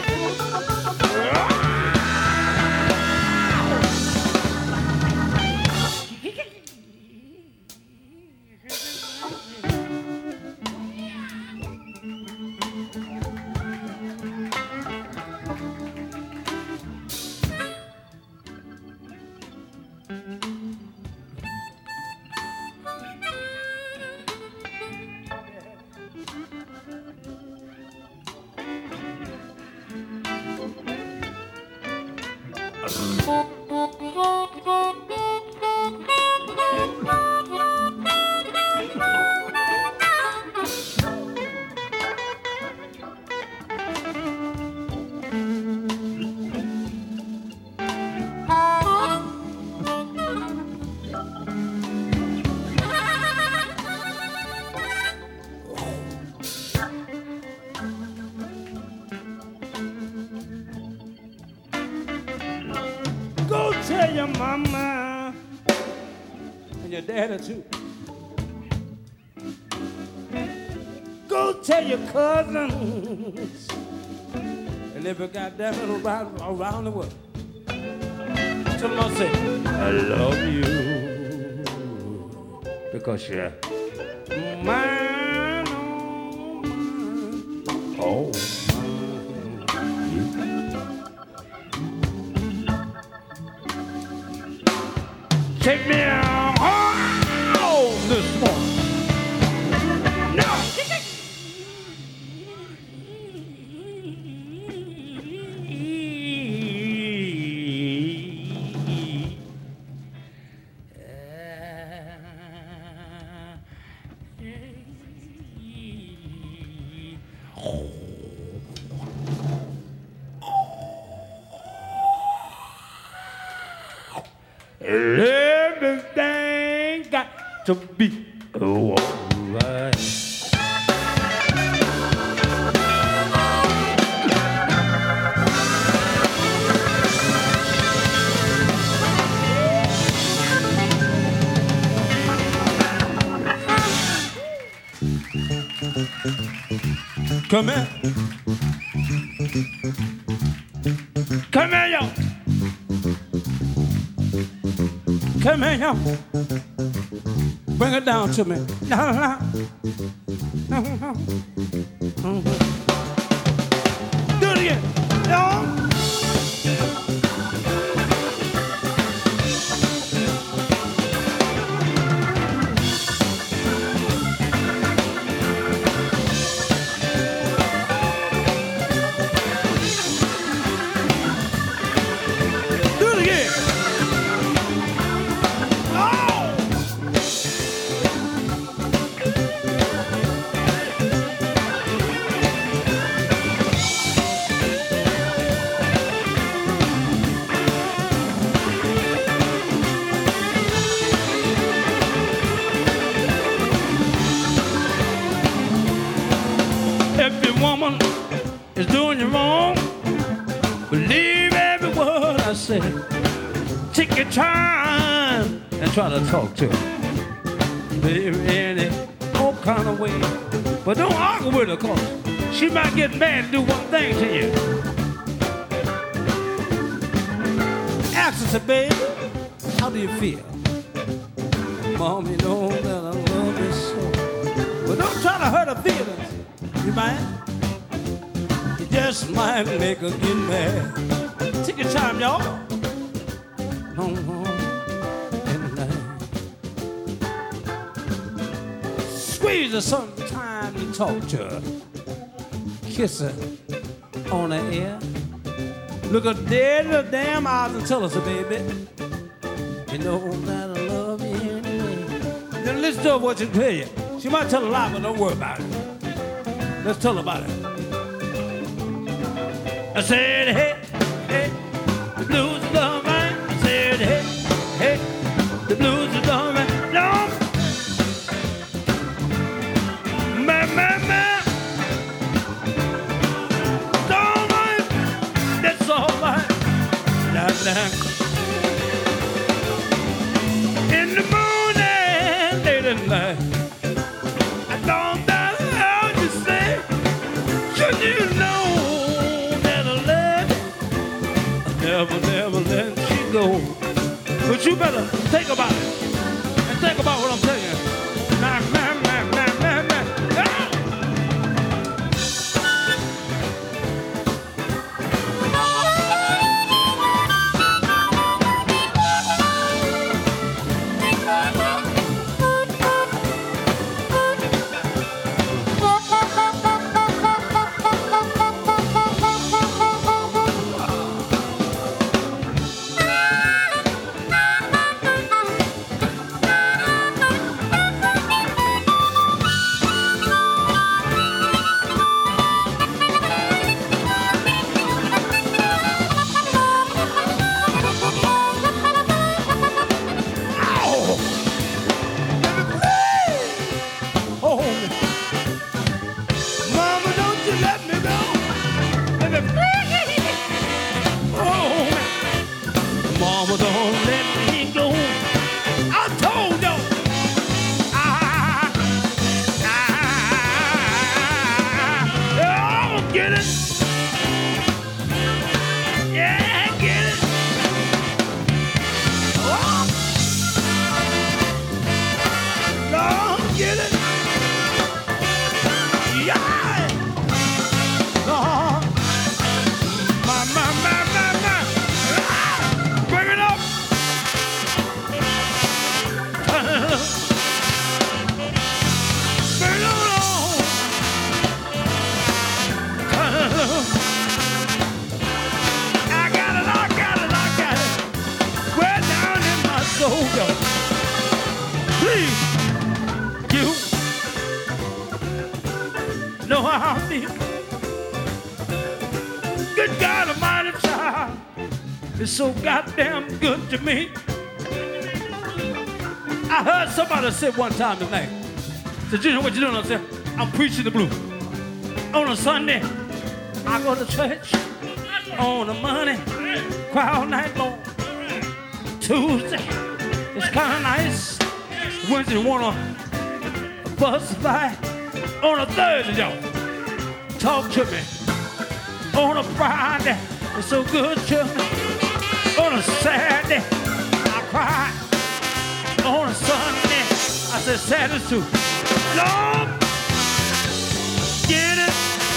Go tell your mama and your daddy too. Go tell your cousins and every goddamn it around the world. Tell them I say, I love you because you're mine, oh mine, oh mine. Take me home this morning. No. Everything got to be alright. Come here. Come here, y'all. Come here, y'all. Bring it down to me. Do it again. Y'all. Woman is doing you wrong. Believe every word I say. Take your time and try to talk to her. Baby, in all kind of way. But don't argue with her, cause she might get mad and do one thing to you. Ask her, say, baby, how do you feel? Mom, you know that I love you so. But don't try to hurt her feelings. You might. Just might make her get mad. Take your time, y'all. Squeeze her sometime and talk to her. Kiss her on the ear. Look her dead in the damn eyes and tell her, so baby, you know that I love you anyway. Then listen to her what she tell you. She might tell a lie, but don't worry about it. Let's tell her about it. I said, hey, hey, the blues is all right. I said, hey, hey, the blues is all right. No, man, it's all right. That's all right. Nah. In the morning, late at night, I don't know how you say, should you know? Never let you go. But you better think about it. And think about what I'm telling you. Man. soldier. Please, you know how I feel. Good God Almighty, child, it's so goddamn good to me. I heard somebody say one time tonight, said, you know what you're doing? I said, I'm preaching the blues. On a Sunday, I go to church. On a Monday, cry all night long. Tuesday, it's kind of nice. Wednesday, wanna bust by. On a Thursday, y'all, talk to me. On a Friday, it's so good to me. On a Saturday, I cry. On a Sunday, I said Saturday too. Lord, get it.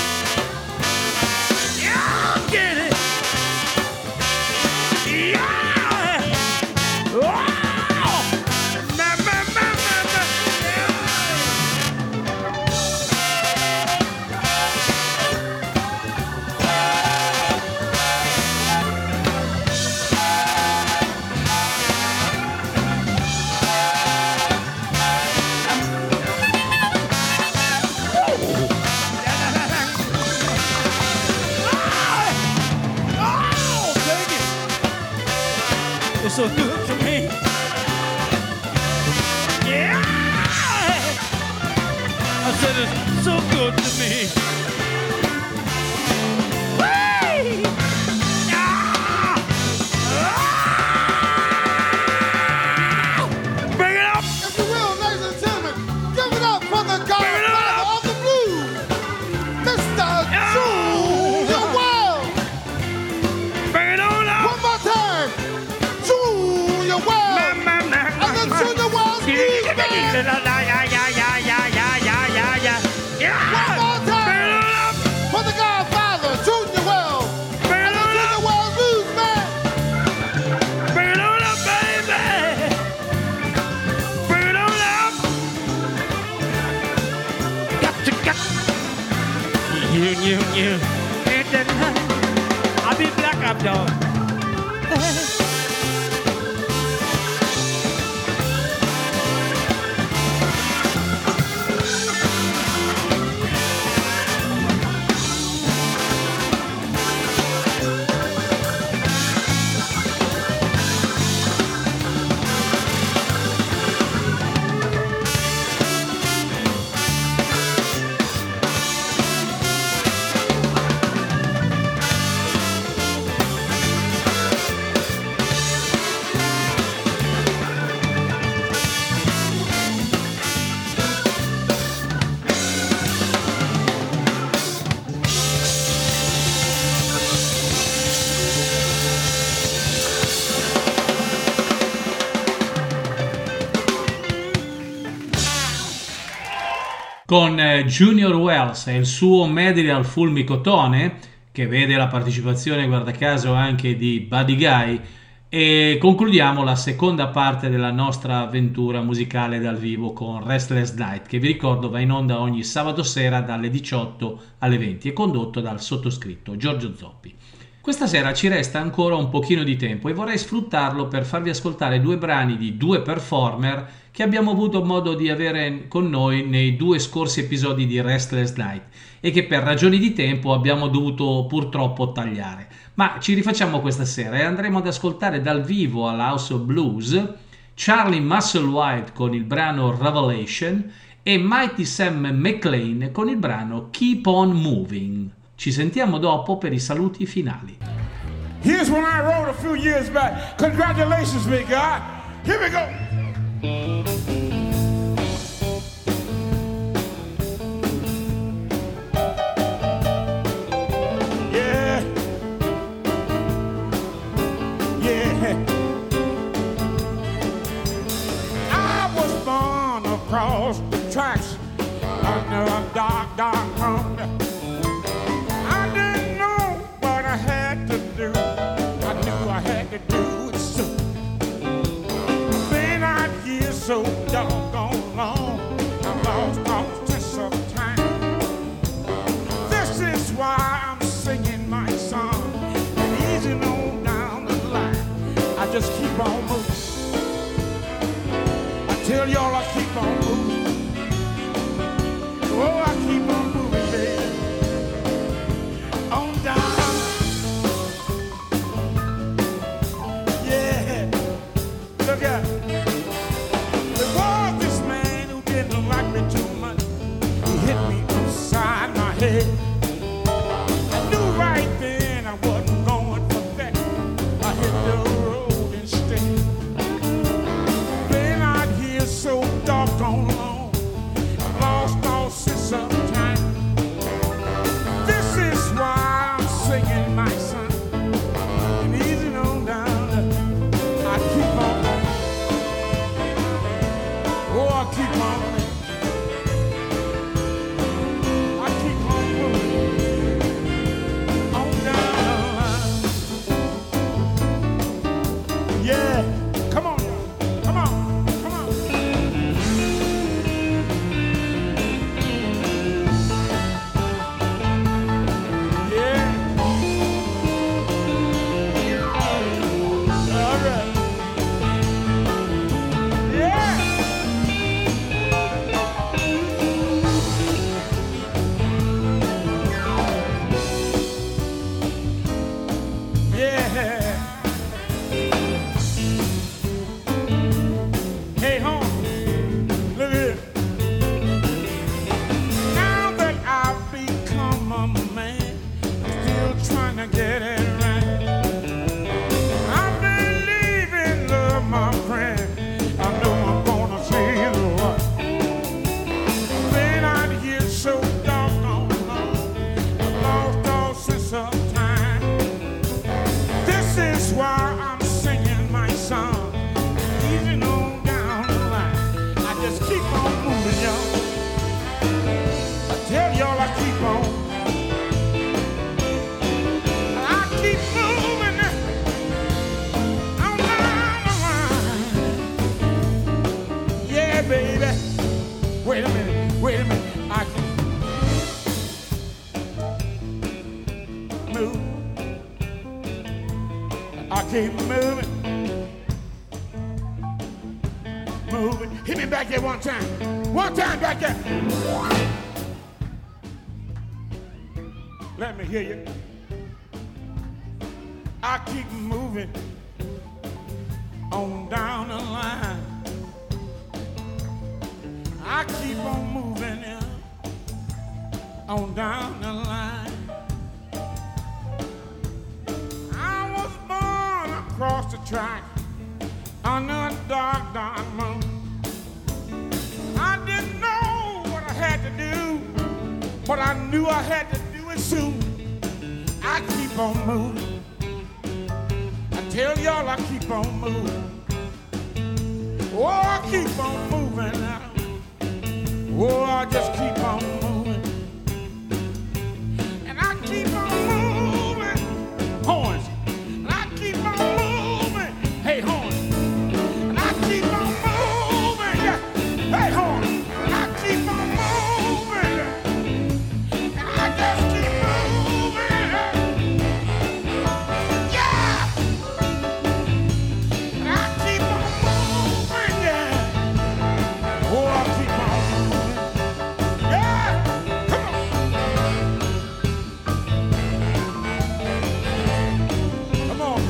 Yeah, get it. Yeah. Wow. It's so good to me. Yeah. I said it's so good to me. Whee! Yeah. Bring it up. If you will, ladies and gentlemen, give it up for the godfather of the blues, Mr. Junior Wells. Bring it on up. One more time. Junior Wells. And the Junior Wells Blues Band. One more time. For the godfather, Junior Wells. And the Junior Wells Blues Band. Bring it on up, baby. Bring it on up. Got. You. Ain't that nice? I'll be black up, dog. Con Junior Wells e il suo medley al fulmicotone, che vede la partecipazione, guarda caso, anche di Buddy Guy, e concludiamo la seconda parte della nostra avventura musicale dal vivo con Restless Night, che vi ricordo va in onda ogni sabato sera dalle 18 alle 20 e condotto dal sottoscritto Giorgio Zoppi. Questa sera ci resta ancora un pochino di tempo e vorrei sfruttarlo per farvi ascoltare due brani di due performer che abbiamo avuto modo di avere con noi nei due scorsi episodi di Restless Night e che per ragioni di tempo abbiamo dovuto purtroppo tagliare. Ma ci rifacciamo questa sera e andremo ad ascoltare dal vivo alla House of Blues Charlie Musselwhite con il brano Revelation e Mighty Sam McLean con il brano Keep On Moving. Ci sentiamo dopo per i saluti finali. Here's one I wrote a few years back. Congratulations, big guy. Here we go. Yeah. I was born across the tracks under a dark, dark moon. I didn't know what I had to do. I knew I had to do it soon. Been out here so doggone long, I've lost all sense of time. This is why I'm singing my song, and easy on down the line, I just keep on moving. tell y'all I keep on moving. Oh, I keep on moving, baby. On down. Yeah. Look out. There was this man who didn't like me too much. He hit me upside my head. I knew right then I wasn't going for that. I hit the road instead. Been out here so doggone long, I lost all sense of time. This is why I'm singing my song. And easing on down, I keep on. Oh, I keep on. I keep on moving. On down the line. Yeah, come on, come on, come on. Yeah. All right. Yeah. Yeah. Hey, home, look at this. Now that I've become a man, still trying to get it right. I believe in love, my friend. I know I'm gonna see the right. Been out here so doggone long, I lost all sense of time. This is why I'm singing my song. Easing on down the line. I just keep on moving, y'all. I tell y'all I keep on. I keep moving on down the line. Yeah, baby. Wait a minute, wait a minute. I can move. I keep moving. Moving. Hit me back there one time. One time back there. Let me hear you. I keep moving on down the line. I keep on moving on down the line. I was born across the track under a dark, dark moon. I didn't know what I had to do, but I knew I had to do it soon. I keep on moving. I tell y'all I keep on moving. Oh, I keep on moving now. Oh, I just keep on moving. And I keep on moving. Horns. And I keep on moving. Hey, horns. And I keep on moving. Yeah. Hey, horns. And I keep on moving. And I just keep on moving. Yeah. And I keep on moving. Yeah. Oh, I keep on moving. Yeah. Come on. Come on.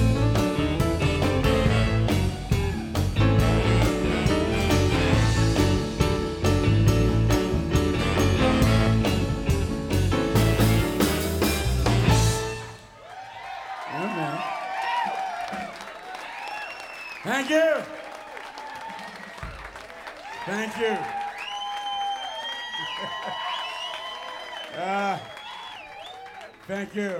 Amen. Thank you. Thank you. Thank you.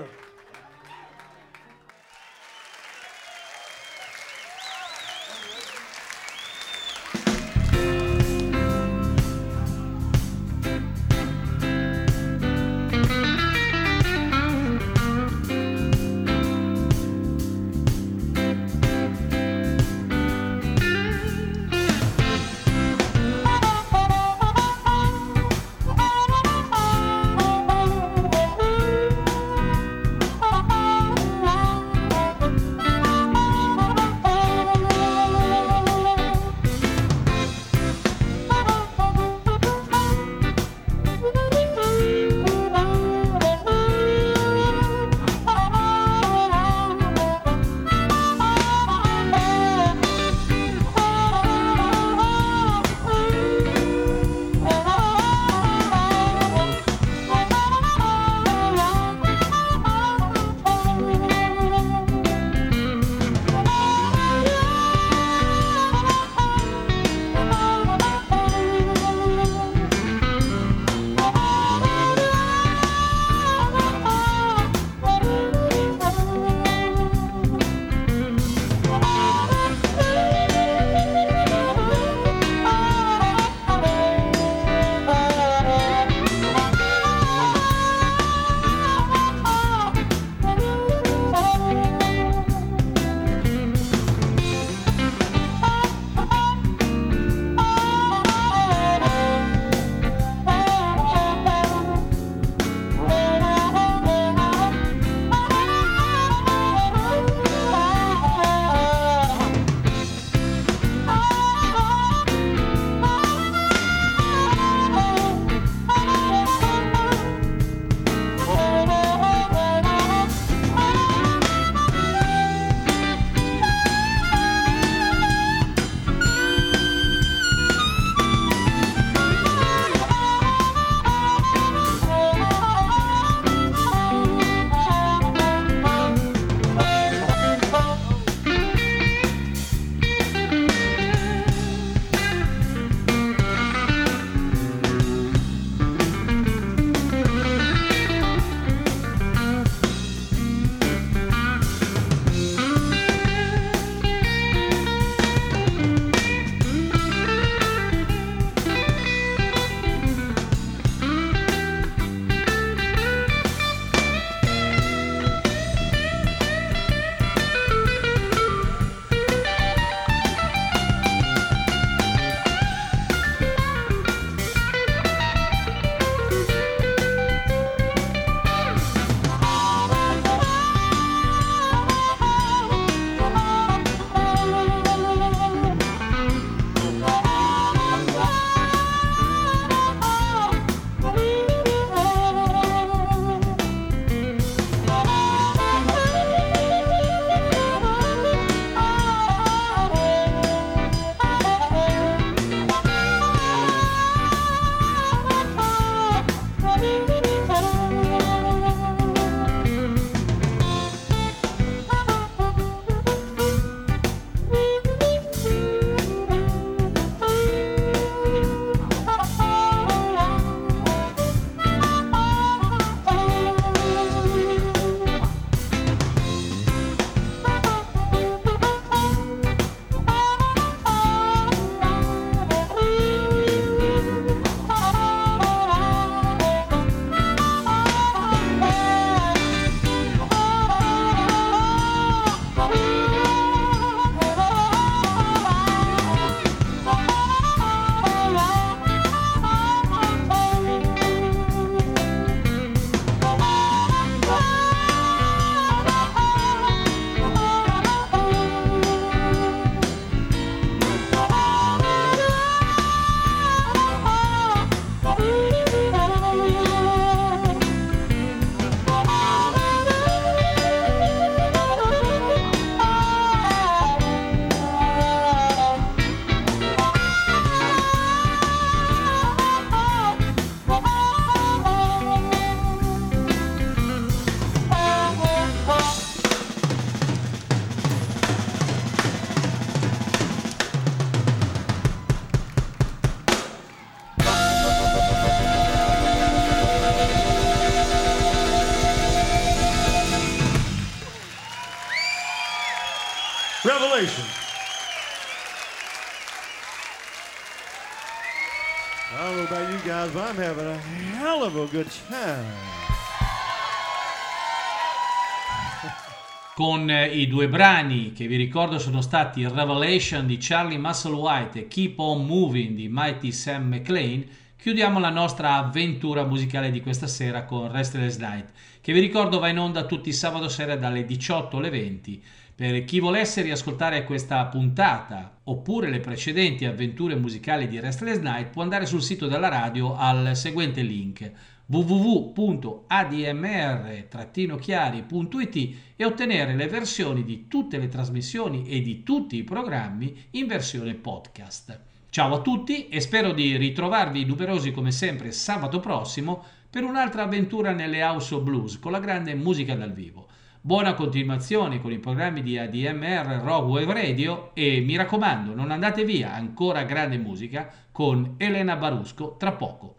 I don't know about you guys, but I'm having a hell of a good time. Con i due brani che vi ricordo sono stati Revelation di Charlie Musselwhite e Keep On Moving di Mighty Sam McLean, chiudiamo la nostra avventura musicale di questa sera con Restless Night, che vi ricordo va in onda tutti i sabato sera dalle 18 alle 20. Per chi volesse riascoltare questa puntata oppure le precedenti avventure musicali di Restless Night può andare sul sito della radio al seguente link www.admr-chiari.it e ottenere le versioni di tutte le trasmissioni e di tutti i programmi in versione podcast. Ciao a tutti e spero di ritrovarvi numerosi come sempre sabato prossimo per un'altra avventura nelle House of Blues con la grande musica dal vivo. Buona continuazione con i programmi di ADMR Rock Wave Radio e mi raccomando non andate via, ancora grande musica con Elena Barusco tra poco.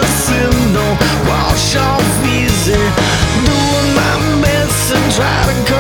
Try to